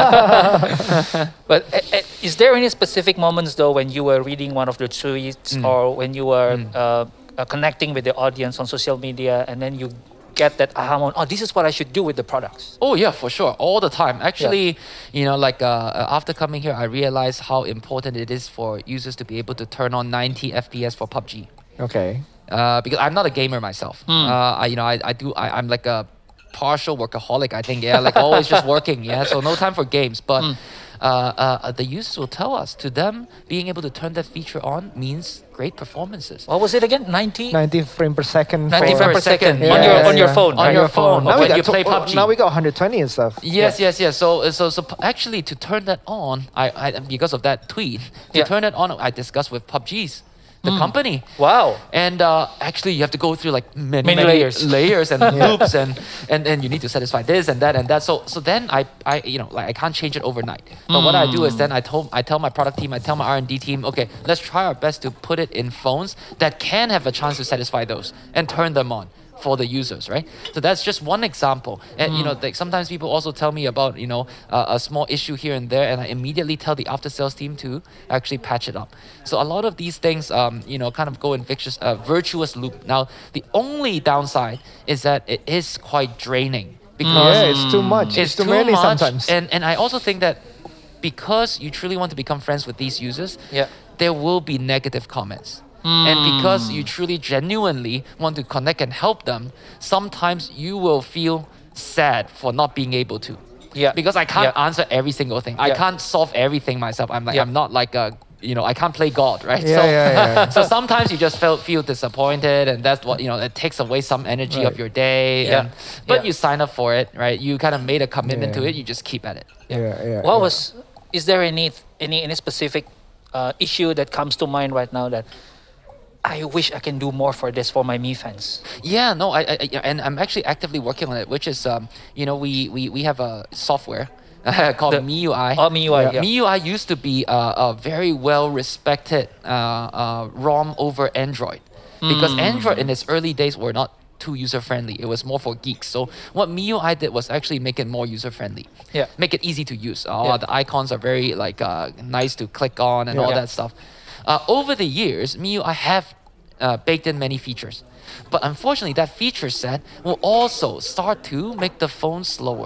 Yeah. But is there any specific moments though when you were reading one of the tweets or when you were connecting with the audience on social media, and then you get that aha moment, oh, this is what I should do with the products? Oh yeah, for sure, all the time. Actually, after coming here, I realized how important it is for users to be able to turn on 90 FPS for PUBG. Okay. Because I'm not a gamer myself. I'm like a partial workaholic, I think. Yeah, like always just working. Yeah, so no time for games. But the users will tell us, to them, being able to turn that feature on means great performances. What was it again? 90 frame per second. 90 frames per second Yeah, on your phone. On your phone. Now When we you got play PUBG. Now we got 120 and stuff. Yes. So actually, to turn that on, I because of that tweet, to turn it on, I discussed with PUBG's the company. Wow. And actually, you have to go through like many layers. and loops, and you need to satisfy this and that and that. So then I like I can't change it overnight. But what I do is then I tell my product team, I tell my R&D team, okay, let's try our best to put it in phones that can have a chance to satisfy those and turn them on for the users, right? So that's just one example. And like sometimes people also tell me about a small issue here and there, and I immediately tell the after sales team to actually patch it up. So a lot of these things kind of go in virtuous loop. Now the only downside is that it is quite draining because it's too much. it's too too many much, sometimes. and I also think that because you truly want to become friends with these users, there will be negative comments. And because you truly genuinely want to connect and help them, sometimes you will feel sad for not being able to. Yeah. Because I can't answer every single thing. I can't solve everything myself. I'm not like a, I can't play God, right? So sometimes you just feel disappointed, and that's what, it takes away some energy of your day. But you sign up for it, right? You kind of made a commitment to it. You just keep at it. Is there any specific issue that comes to mind right now that I wish I can do more for this for my Mi fans? Yeah, no, and I'm actually actively working on it, which is, we have a software called MIUI. Oh, MIUI. MIUI used to be a very well-respected ROM over Android, because Android in its early days were not too user-friendly. It was more for geeks. So what MIUI did was actually make it more user-friendly. Yeah. Make it easy to use. The icons are very nice to click on and all that stuff. Over the years, MIUI have baked in many features. But unfortunately, that feature set will also start to make the phone slower.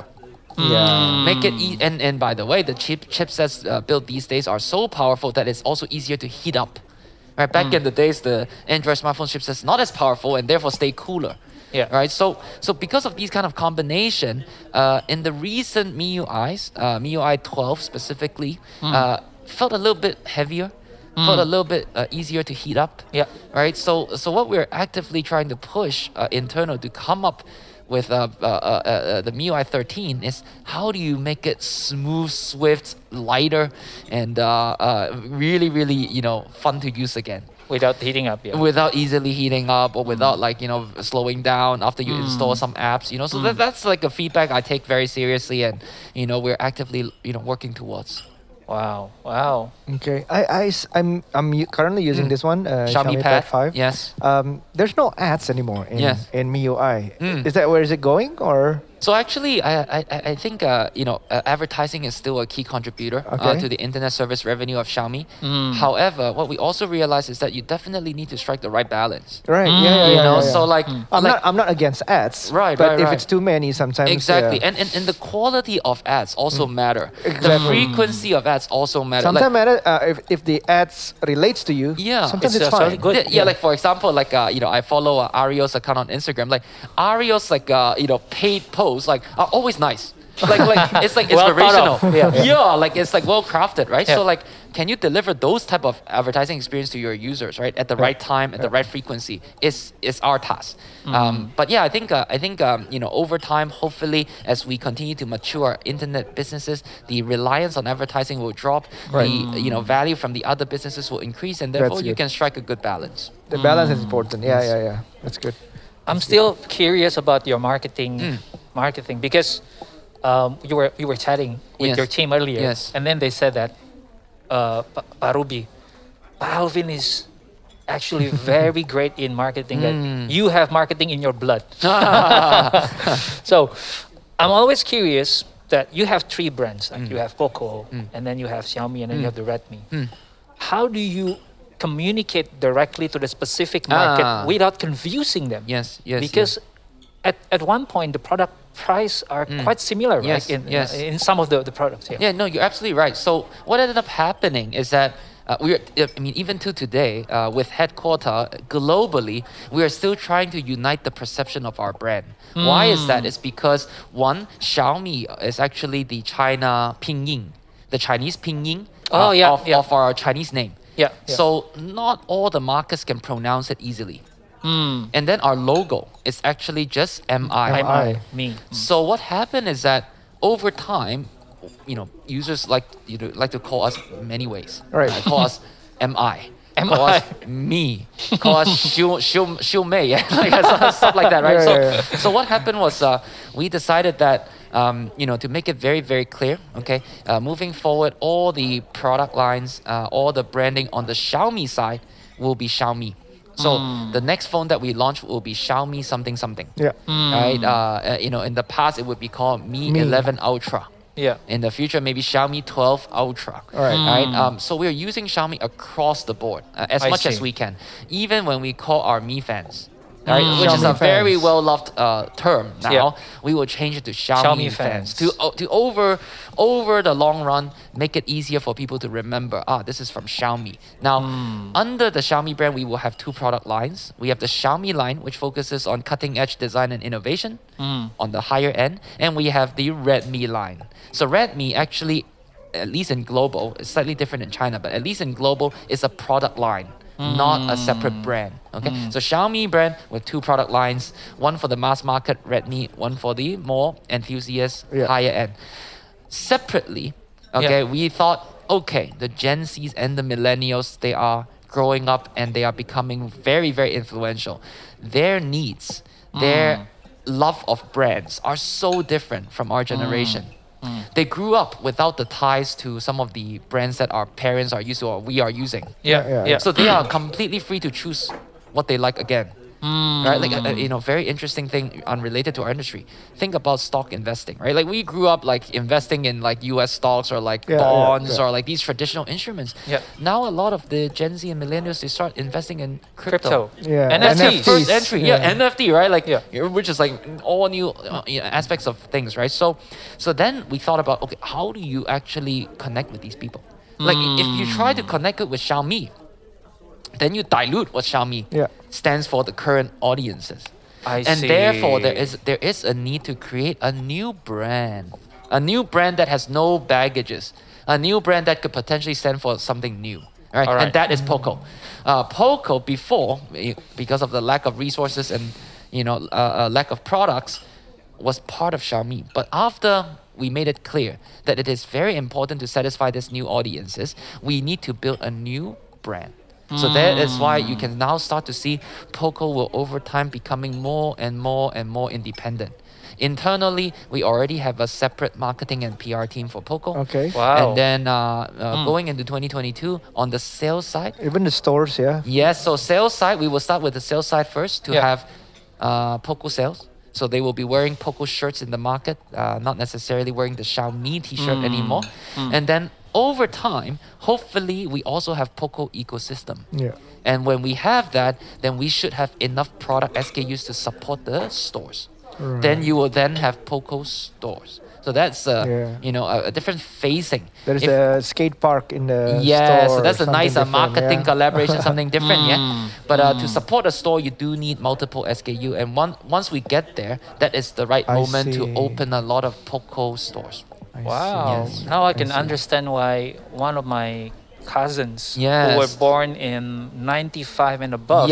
Make it and by the way, the chipsets built these days are so powerful that it's also easier to heat up. Right, back in the days, the Android smartphone chipsets not as powerful and therefore stay cooler. Right. So because of these kind of combination, in the recent MIUIs, MIUI 12 specifically, felt a little bit heavier. Felt a little bit easier to heat up. Right. So what we're actively trying to push internal to come up with the MIUI 13 is how do you make it smooth, swift, lighter, and really, really fun to use again. Without heating up, Without easily heating up, or without slowing down after you install some apps, So that's like a feedback I take very seriously, and we're actively working towards. Wow. Okay, I'm currently using this one, Xiaomi Pad 5. Yes. There's no ads anymore in MIUI. Is that where is it going, or? So actually, I think advertising is still a key contributor to the internet service revenue of Xiaomi. However, what we also realize is that you definitely need to strike the right balance. Right. So I'm not against ads. Right. But if it's too many, sometimes. Exactly, and the quality of ads also matter. The frequency of ads also matter. Sometimes matter if the ads relates to you. Sometimes it's fine. Really good. Like for example, I follow Ario's account on Instagram. Like Ario's paid posts are always nice. It's like inspirational. It's like well crafted, right? So can you deliver those type of advertising experience to your users, right, at the right time, at the right frequency? Is our task. But I think over time, hopefully, as we continue to mature our internet businesses, the reliance on advertising will drop. The value from the other businesses will increase, and therefore you can strike a good balance. The balance is important. Yeah. That's good. I'm still curious about your marketing because you were chatting with your team earlier, and then they said that Pak Ruby, Pak Alvin is actually very great in marketing. That you have marketing in your blood. So I'm always curious that you have 3 brands. Like you have Poco, and then you have Xiaomi, and then you have the Redmi. How do you communicate directly to the specific market without confusing them? Because at one point the product price are quite similar, right? In some of the products. No, you're absolutely right. So what ended up happening is that even to today, with headquarter globally, we are still trying to unite the perception of our brand. Why is that? It's because one, Xiaomi is actually the China pinyin, the Chinese pinyin of our Chinese name. So not all the markets can pronounce it easily. And then our logo is actually just MI. Me. So what happened is that over time, users like to call us many ways. Right. Call us MI. call us me, call us Xiu Mei, yeah, like stuff like that, right? So what happened was we decided that to make it very, very clear, okay, moving forward, all the product lines, all the branding on the Xiaomi side will be Xiaomi. So the next phone that we launch will be Xiaomi something something. Yeah. Right. In the past it would be called Mi 11 Ultra. Yeah. In the future, maybe Xiaomi 12 Ultra. Right. So we're using Xiaomi across the board as much as we can, even when we call our Mi fans. Right, which is a very well loved term now. Yeah. We will change it to Xiaomi fans to over the long run make it easier for people to remember. This is from Xiaomi. Now, under the Xiaomi brand, we will have two product lines. We have the Xiaomi line, which focuses on cutting edge design and innovation on the higher end, and we have the Redmi line. So Redmi actually, at least in global, it's slightly different in China, but at least in global, is a product line. Not a separate brand. Okay, so Xiaomi brand with two product lines, one for the mass market Redmi, one for the more enthusiast higher end. Separately, okay, we thought, okay, the Gen Zs and the millennials, they are growing up and they are becoming very, very influential. Their needs, their love of brands are so different from our generation. They grew up without the ties to some of the brands that our parents are used to or we are using. So they are completely free to choose what they like again. Right, like very interesting thing unrelated to our industry. Think about stock investing, right? Like we grew up like investing in like U.S. stocks or like bonds or like these traditional instruments. Now a lot of the Gen Z and millennials, they start investing in crypto. NFTs. First entry, NFT, right? Like which is like all new aspects of things, right? So then we thought about, okay, how do you actually connect with these people? Like if you try to connect it with Xiaomi, then you dilute what Xiaomi stands for the current audiences. And therefore there is a need to create a new brand that has no baggages, a new brand that could potentially stand for something new. Right? And that is Poco. Poco before, because of the lack of resources and lack of products, was part of Xiaomi. But after we made it clear that it is very important to satisfy these new audiences, we need to build a new brand. So that is why you can now start to see Poco will over time becoming more and more and more independent. Internally, we already have a separate marketing and PR team for Poco. Okay. Wow. And then going into 2022, on the sales side. Even the stores, Yes, so sales side, we will start with the sales side first to have Poco sales. So they will be wearing Poco shirts in the market, not necessarily wearing the Xiaomi t-shirt anymore. And then over time, hopefully, we also have Poco ecosystem. And when we have that, then we should have enough product SKUs to support the stores. Then you will then have Poco stores. So that's a different phasing. There's a skate park in the store. So that's a nice marketing collaboration, something different, But to support a store, you do need multiple SKU. And once we get there, that is the right moment to open a lot of Poco stores. Wow. Now I can understand why one of my cousins who were born in 95 and above,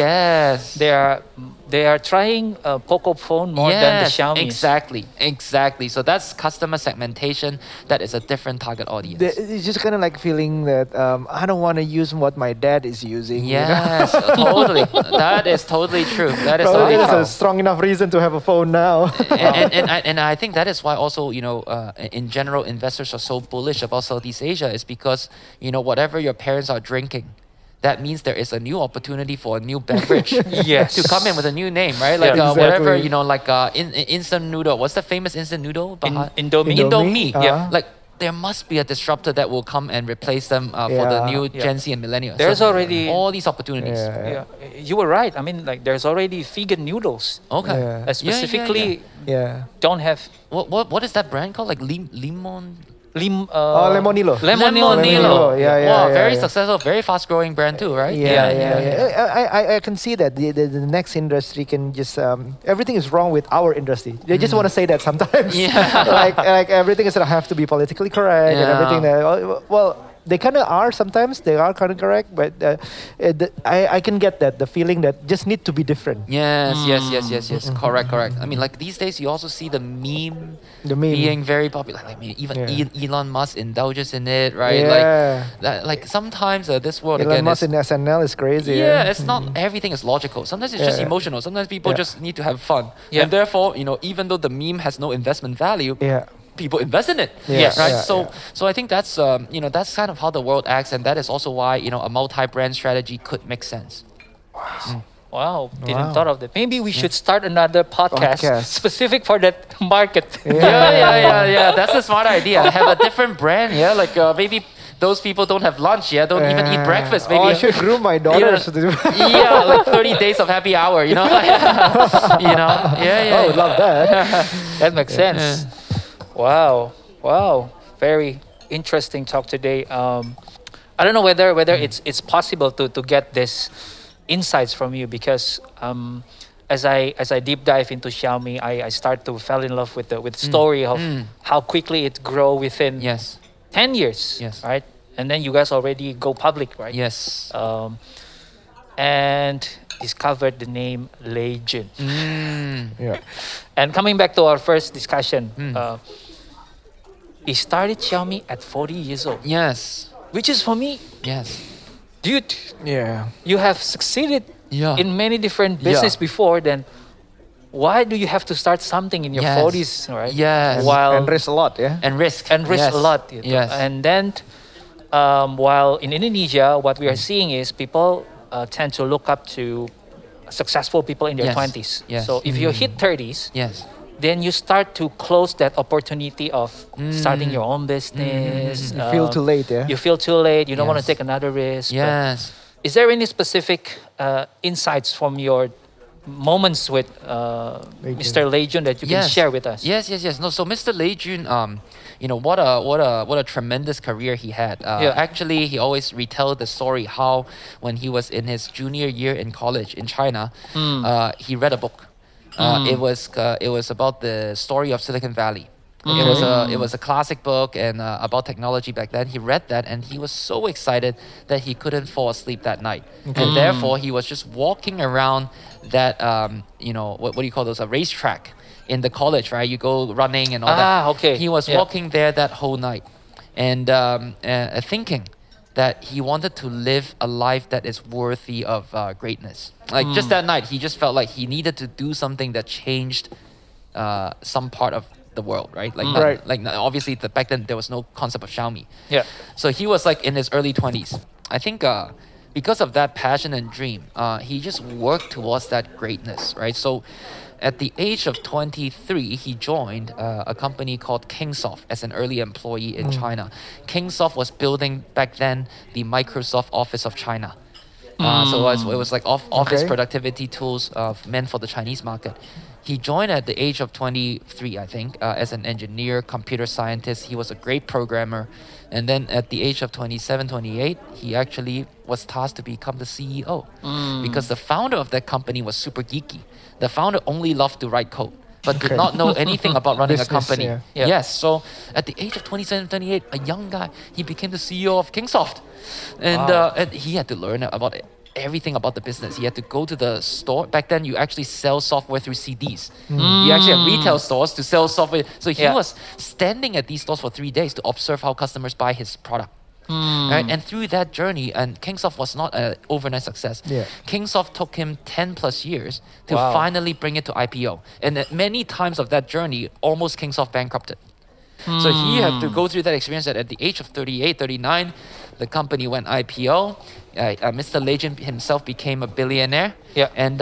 they are trying a Poco phone more than the Xiaomi. Exactly. So that's customer segmentation. That is a different target audience. It's just kind of like feeling that I don't want to use what my dad is using. Yes, totally. That is totally true. That is Probably totally true. a strong enough reason to have a phone now. and I think that is why also, in general, investors are so bullish about Southeast Asia is because, whatever your parents are drinking, that means there is a new opportunity for a new beverage to come in with a new name, right? Like whatever, instant noodle. What's the famous instant noodle? Indomie. Like there must be a disruptor that will come and replace them for the new Gen Z and millennials. There's already all these opportunities. You were right. I mean, like there's already vegan noodles. Okay. Specifically, don't have. What is that brand called? Like Limon. Lemonilo. Lemonilo. Yeah, very successful, very fast growing brand too, right? I can see that the next industry can just everything is wrong with our industry. They just want to say that sometimes. like everything is have to be politically correct and everything. they kind of are sometimes. They are kind of correct, but I can get that the feeling that just need to be different. Yes. Correct. I mean, like these days, you also see the meme being very popular. Like, I mean, even Elon Musk indulges in it, right? Yeah. Like that. Like sometimes this world Elon again Musk is, in SNL is crazy. yeah, it's not everything is logical. Sometimes it's just emotional. Sometimes people just need to have fun, and therefore, even though the meme has no investment value, people invest in it. Yes. Right. Yeah, So I think that's that's kind of how the world acts, and that is also why a multi-brand strategy could make sense. Wow, didn't thought of that. Maybe we should start another podcast specific for that market. Yeah. That's a smart idea. Have a different brand. Yeah, like maybe those people don't have lunch. Yeah, don't even eat breakfast. Maybe I should groom my daughters. like 30 days of happy hour. Yeah. Oh, love that. That makes sense. Wow. Very interesting talk today. I don't know whether it's possible to get this insights from you, because as I deep dive into Xiaomi, I start to fall in love with the story of how quickly it grow within 10 years, right? And then you guys already go public, right? Yes. And discovered the name Lei Jun. Yeah. And coming back to our first discussion, he started Xiaomi at 40 years old. Yes. Which is for me, dude, Yeah. you have succeeded in many different business before, then why do you have to start something in your 40s, right? Yes. And risk a lot, yeah. And risk. A lot. Yes. And then while in Indonesia, what we are seeing is people tend to look up to successful people in their 20s. Yes. So if you hit 30s, Yes. then you start to close that opportunity of starting your own business. You feel too late, yeah. You feel too late. You don't want to Yes. take another risk. But Yes. is there any specific insights from your moments with Mr. Lei Jun that you can share with us? Yes. No, so Mr. Lei Jun, what a tremendous career he had. Actually, he always retelled the story how when he was in his junior year in college in China, he read a book. It was about the story of Silicon Valley. It was a classic book and about technology back then. He read that and he was so excited that he couldn't fall asleep that night, and therefore he was just walking around that what do you call those, a racetrack in the college, right? You go running and all that. Okay. He was walking there that whole night, and thinking that he wanted to live a life that is worthy of greatness. Like just that night, he just felt like he needed to do something that changed some part of the world, right? Like obviously back then there was no concept of Xiaomi. Yeah. So he was like in his early 20s. I think because of that passion and dream, he just worked towards that greatness, right? So at the age of 23, he joined a company called Kingsoft as an early employee in China. Kingsoft was building back then the Microsoft Office of China. So it was like office productivity tools meant for the Chinese market. He joined at the age of 23, I think, as an engineer, computer scientist. He was a great programmer. And then at the age of 27, 28, he actually was tasked to become the CEO. Because the founder of that company was super geeky. The founder only loved to write code, but did not know anything about running a company. Yes, so at the age of 27, 28, a young guy, he became the CEO of Kingsoft. And he had to learn about everything about the business. He had to go to the store. Back then, you actually sell software through CDs. You actually have retail stores to sell software. So he was standing at these stores for 3 days to observe how customers buy his product. Right? And through that journey, and Kingsoft was not an overnight success. Kingsoft took him 10 plus years to finally bring it to IPO. And at many times of that journey, almost Kingsoft bankrupted. So he had to go through that experience that at the age of 38, 39, the company went IPO. Mr. Lei Jun himself became a billionaire. And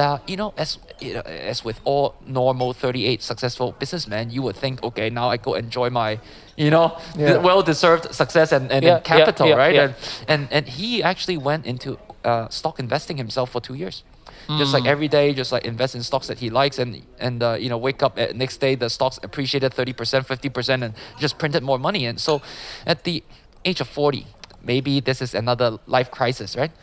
as with all normal 38 successful businessmen, you would think, okay, now I go enjoy my, well-deserved success and capital, right? And he actually went into stock investing himself for 2 years. Just like every day, just like invest in stocks that he likes, and wake up at next day the stocks appreciated 30%, 50%, and just printed more money. And so, at the age of 40, maybe this is another life crisis, right?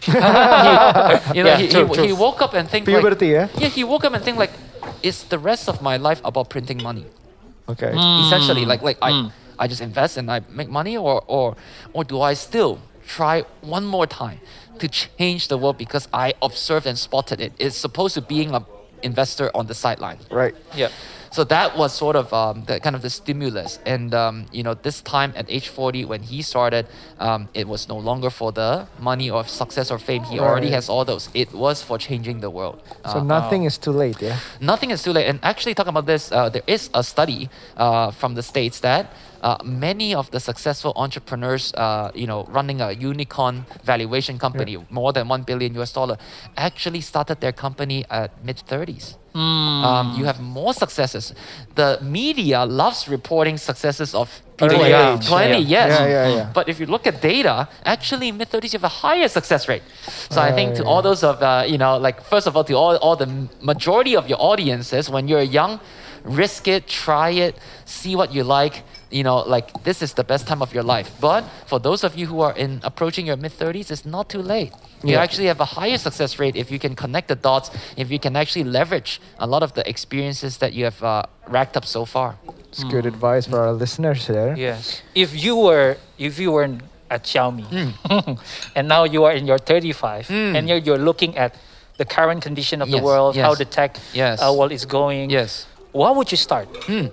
He woke up and think puberty, he woke up and think like, is the rest of my life about printing money? Okay. Essentially, I just invest and I make money, or do I still try one more time to change the world because I observed and spotted it. It's supposed to being an investor on the sideline. Right. Yeah. So that was sort of the kind of the stimulus. And this time at age 40, when he started, it was no longer for the money or success or fame. He already Right. has all those. It was for changing the world. So nothing is too late, yeah. Nothing is too late. And actually, talking about this, there is a study from the States that many of the successful entrepreneurs, running a unicorn valuation company, more than $1 billion US, actually started their company at mid-30s. You have more successes. The media loves reporting successes of people Early at age. 20, Yeah. yes. Yeah. But if you look at data, actually mid-30s you have a higher success rate. So I think to all those of, first of all, to all the majority of your audiences, when you're young, risk it, try it, see what you like. This is the best time of your life. But for those of you who are approaching your mid-30s, it's not too late. You actually have a higher success rate if you can connect the dots, if you can actually leverage a lot of the experiences that you have racked up so far. It's good advice for our listeners there. Yes. If you were at Xiaomi and now you are in your 35 and you're looking at the current condition of the Yes, world, how yes, the tech yes. world is going, Yes. what would you start?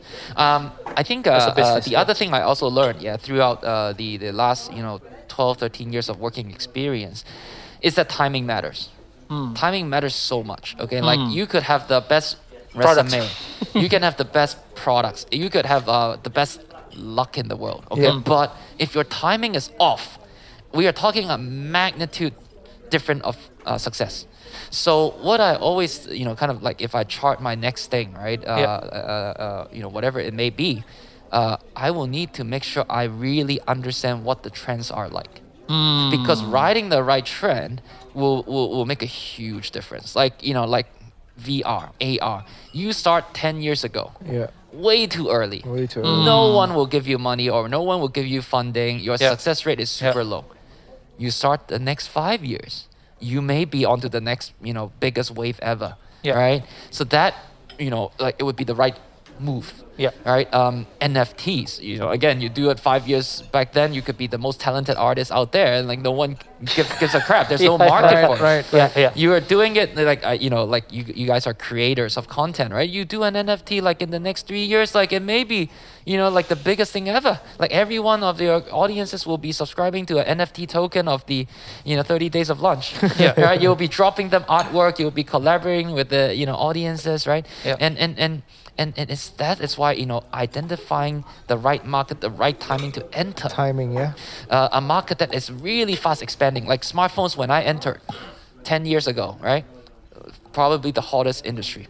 I think As a business, the other thing I also learned, throughout the last 12, 13 years of working experience, is that timing matters. Timing matters so much. Okay, like you could have the best Products. resume, you can have the best products, you could have the best luck in the world. Okay, but if your timing is off, we are talking a magnitude different of success. So what I always, kind of like if I chart my next thing, right? Whatever it may be, I will need to make sure I really understand what the trends are like. Because riding the right trend will make a huge difference. Like VR, AR. You start 10 years ago. Yeah. Way too early. Way too early. No one will give you money or no one will give you funding. Your Yeah. success rate is super low. You start the next 5 years, you may be onto the next, biggest wave ever. Yeah. Right? So that, it would be the right move. Yeah. Right? NFTs, again, you do it 5 years back then, you could be the most talented artist out there and no one gives a crap. There's no market for it. Yeah. You are doing it you guys are creators of content, right? You do an NFT in the next 3 years, it may be, the biggest thing ever. Every one of your audiences will be subscribing to an NFT token of the, 30 days of lunch. Right? You'll be dropping them artwork. You'll be collaborating with the, audiences, right? Yeah. And it's why identifying the right market, the right timing to enter. Timing, yeah. A market that is really fast expanding. Like smartphones, when I entered 10 years ago, right? Probably the hottest industry.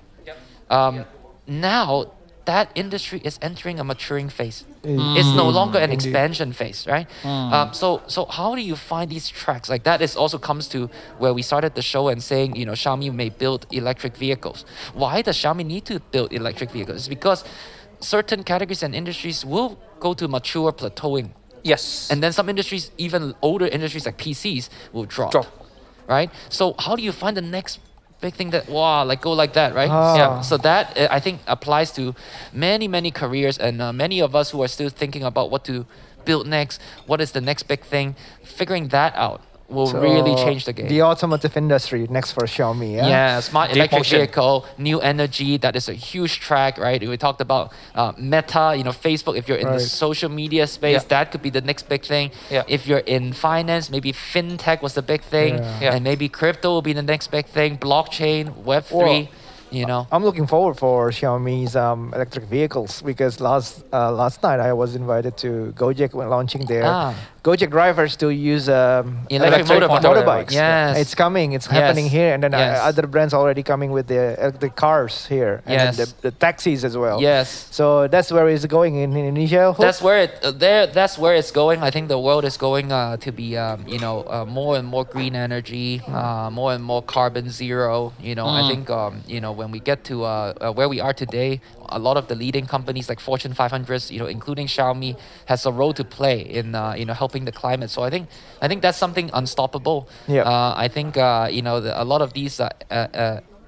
Now, that industry is entering a maturing phase. It's no longer an expansion phase, right? So how do you find these tracks? That is also comes to where we started the show and saying, Xiaomi may build electric vehicles. Why does Xiaomi need to build electric vehicles? It's because certain categories and industries will go to mature plateauing. Yes. And then some industries, even older industries like PCs, will drop. Right? So how do you find the next big thing that go like that, right? Yeah. So that I think applies to many careers and many of us who are still thinking about what to build next. What is the next big thing? Figuring that out will really change the game. The automotive industry next for Xiaomi, yeah? Yeah, smart Deep electric motion. vehicle, new energy, that is a huge track, right? We talked about Meta, Facebook, if you're in the Right. social media space, that could be the next big thing. Yeah. If you're in finance, maybe fintech was the big thing, Yeah. and maybe crypto will be the next big thing, blockchain, Web3, I'm looking forward for Xiaomi's electric vehicles because last night I was invited to Gojek when launching their Gojek drivers to use Electric motorbikes. Yes. It's coming. It's happening here, and then Yes. other brands already coming with the electric cars here, and then Yes. the taxis as well. Yes. So that's where it's going in Indonesia. That's where that's where it's going. I think the world is going to be more and more green energy, more and more carbon zero. I think when we get to where we are today, a lot of the leading companies like Fortune 500s, including Xiaomi, has a role to play in helping the climate. So I think that's something unstoppable. Yeah. I think a lot of these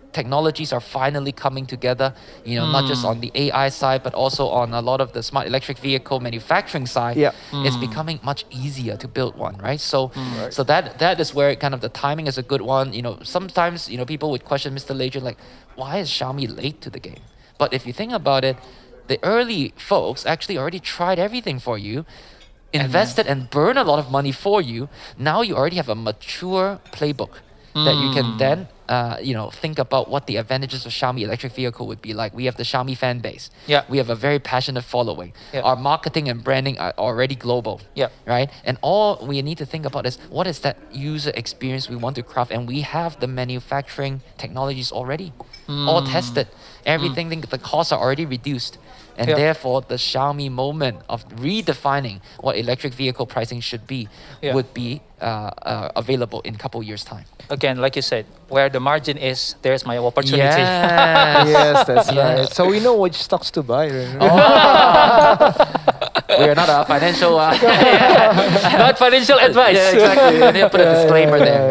technologies are finally coming together, not just on the AI side, but also on a lot of the smart electric vehicle manufacturing side. Yeah. It's becoming much easier to build one, right? So so that is where kind of the timing is a good one. Sometimes, people would question Mr. Legion, like, why is Xiaomi late to the game? But if you think about it, the early folks actually already tried everything for you, invested and burned a lot of money for you. Now you already have a mature playbook that you can then think about what the advantages of Xiaomi electric vehicle would be like. We have the Xiaomi fan base. Yeah. We have a very passionate following. Yeah. Our marketing and branding are already global. Yeah. Right? And all we need to think about is what is that user experience we want to craft, and we have the manufacturing technologies already. All tested. Everything, the costs are already reduced. And Yeah. therefore, the Xiaomi moment of redefining what electric vehicle pricing should be would be available in a couple years' time. Again, like you said, where the margin is, there's my opportunity. Yes. Yes, that's Yeah. right. So we know which stocks to buy. Right? We are not a financial. Not financial advice. Yeah, exactly. You need to put a disclaimer there.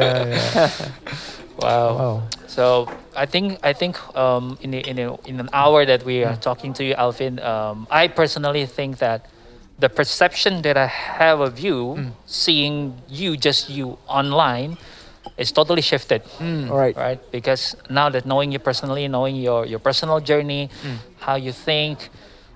Wow. Wow. So I think in an hour that we are talking to you, Alvin, I personally think that the perception that I have of you, seeing just you online, is totally shifted. All right. Right? Because now that knowing you personally, knowing your personal journey, how you think,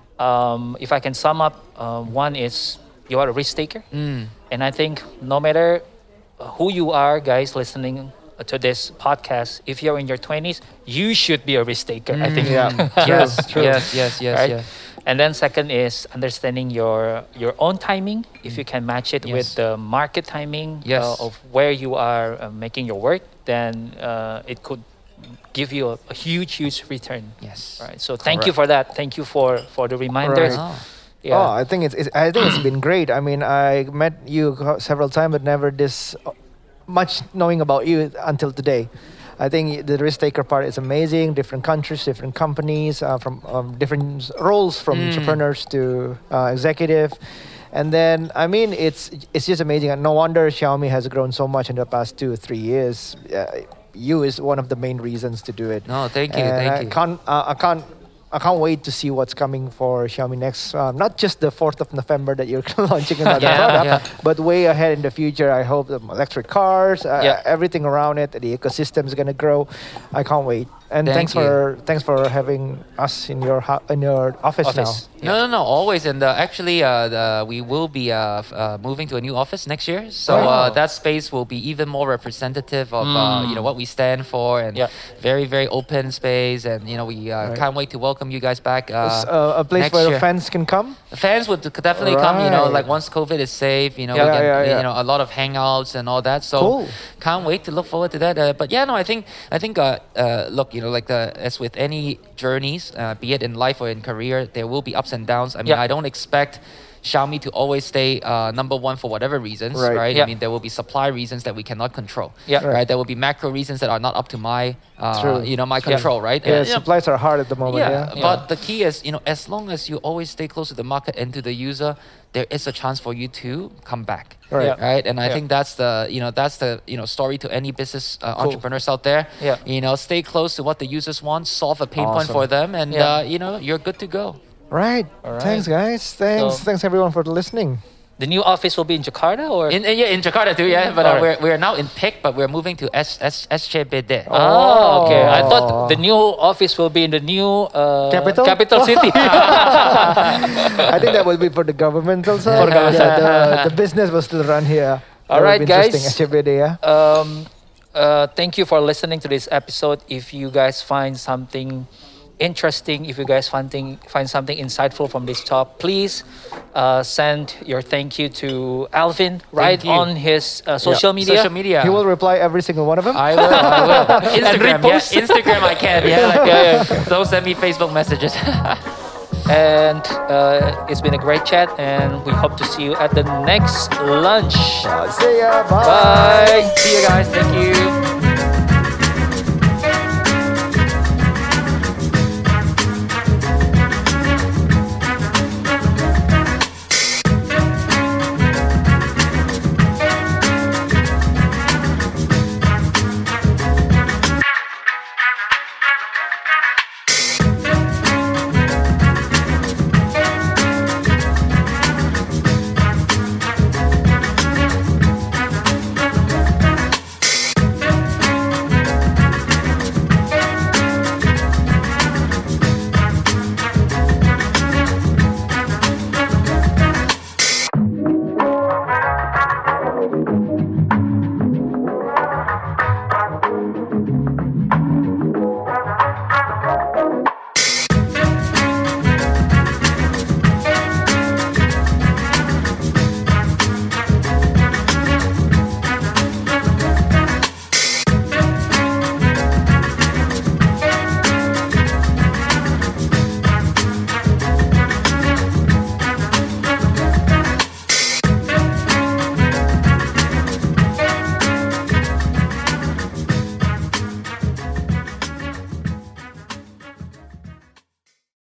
if I can sum up, one is you are a risk taker. And I think no matter who you are, guys listening to this podcast, if you're in your 20s, you should be a risk taker. I think. Yeah. Yes, True. yes. Right? And then second is understanding your own timing. If you can match it Yes. with the market timing Yes. of where you are making your work, then it could give you a huge return. Yes. Right. So thank you for that. Thank you for the reminders. Right. Oh. Yeah. Oh, I think I think it's been great. I mean, I met you several times, but never this much knowing about you until today. I think the risk taker part is amazing. Different countries, different companies, from different roles, from entrepreneurs to executive. And then, I mean, it's just amazing. And no wonder Xiaomi has grown so much in the past 2 or 3 years. You is one of the main reasons to do it. No, thank you, And thank you. I can't wait to see what's coming for Xiaomi next. Not just the 4th of November that you're launching another Yeah, product, yeah. but way ahead in the future. I hope the electric cars, Yeah. everything around it, the ecosystem is gonna grow. I can't wait. And Thank thanks for having us in your office Office. No, always. And actually, we will be moving to a new office next year. So Wow. that space will be even more representative of what we stand for, and Yeah. very, very open space. And we can't wait to welcome you guys back. It's a place next where year. fans can come. The fans would definitely come. Right. Like once COVID is safe, we Yeah. get Yeah. a lot of hangouts and all that. So Cool. can't wait to look forward to that. But yeah, no, I think look, as with any journeys, be it in life or in career, there will be ups and downs. I mean, Yeah. I don't expect Xiaomi to always stay number one for whatever reasons, Right. right? Yeah. I mean, there will be supply reasons that we cannot control. Yeah. Right. There will be macro reasons that are not up to my True. my control, right? Yeah, And, supplies are hard at the moment. yeah, Yeah. but the key is, as long as you always stay close to the market and to the user, there is a chance for you to come back. Right. Yeah. Right. And I Yeah. think that's the story to any business entrepreneurs out there. Yeah. Stay close to what the users want, solve a pain point Awesome. for them, and Yeah. you're good to go. Right. All right. Thanks, guys. Thanks everyone for listening. The new office will be in Jakarta, or In Jakarta too, yeah. But Alright. we're now in PIC, but we're moving to SCBD. Oh, okay. I Oh. thought the new office will be in the new Capital? city. I think that will be for the government also. For the government. Yeah, the business will still run here. All right, guys. SCBD, yeah. Thank you for listening to this episode. If you guys find something interesting, if you guys find something insightful from this talk, please send your thank you to Alvin right you. on his social media. Social media. He will reply every single one of them. I will. Instagram, repost. yeah. Instagram, I can. Yeah, Yeah. Don't send me Facebook messages. And it's been a great chat, and we hope to see you at the next lunch. See ya. Bye. Bye. See you guys. Thank you.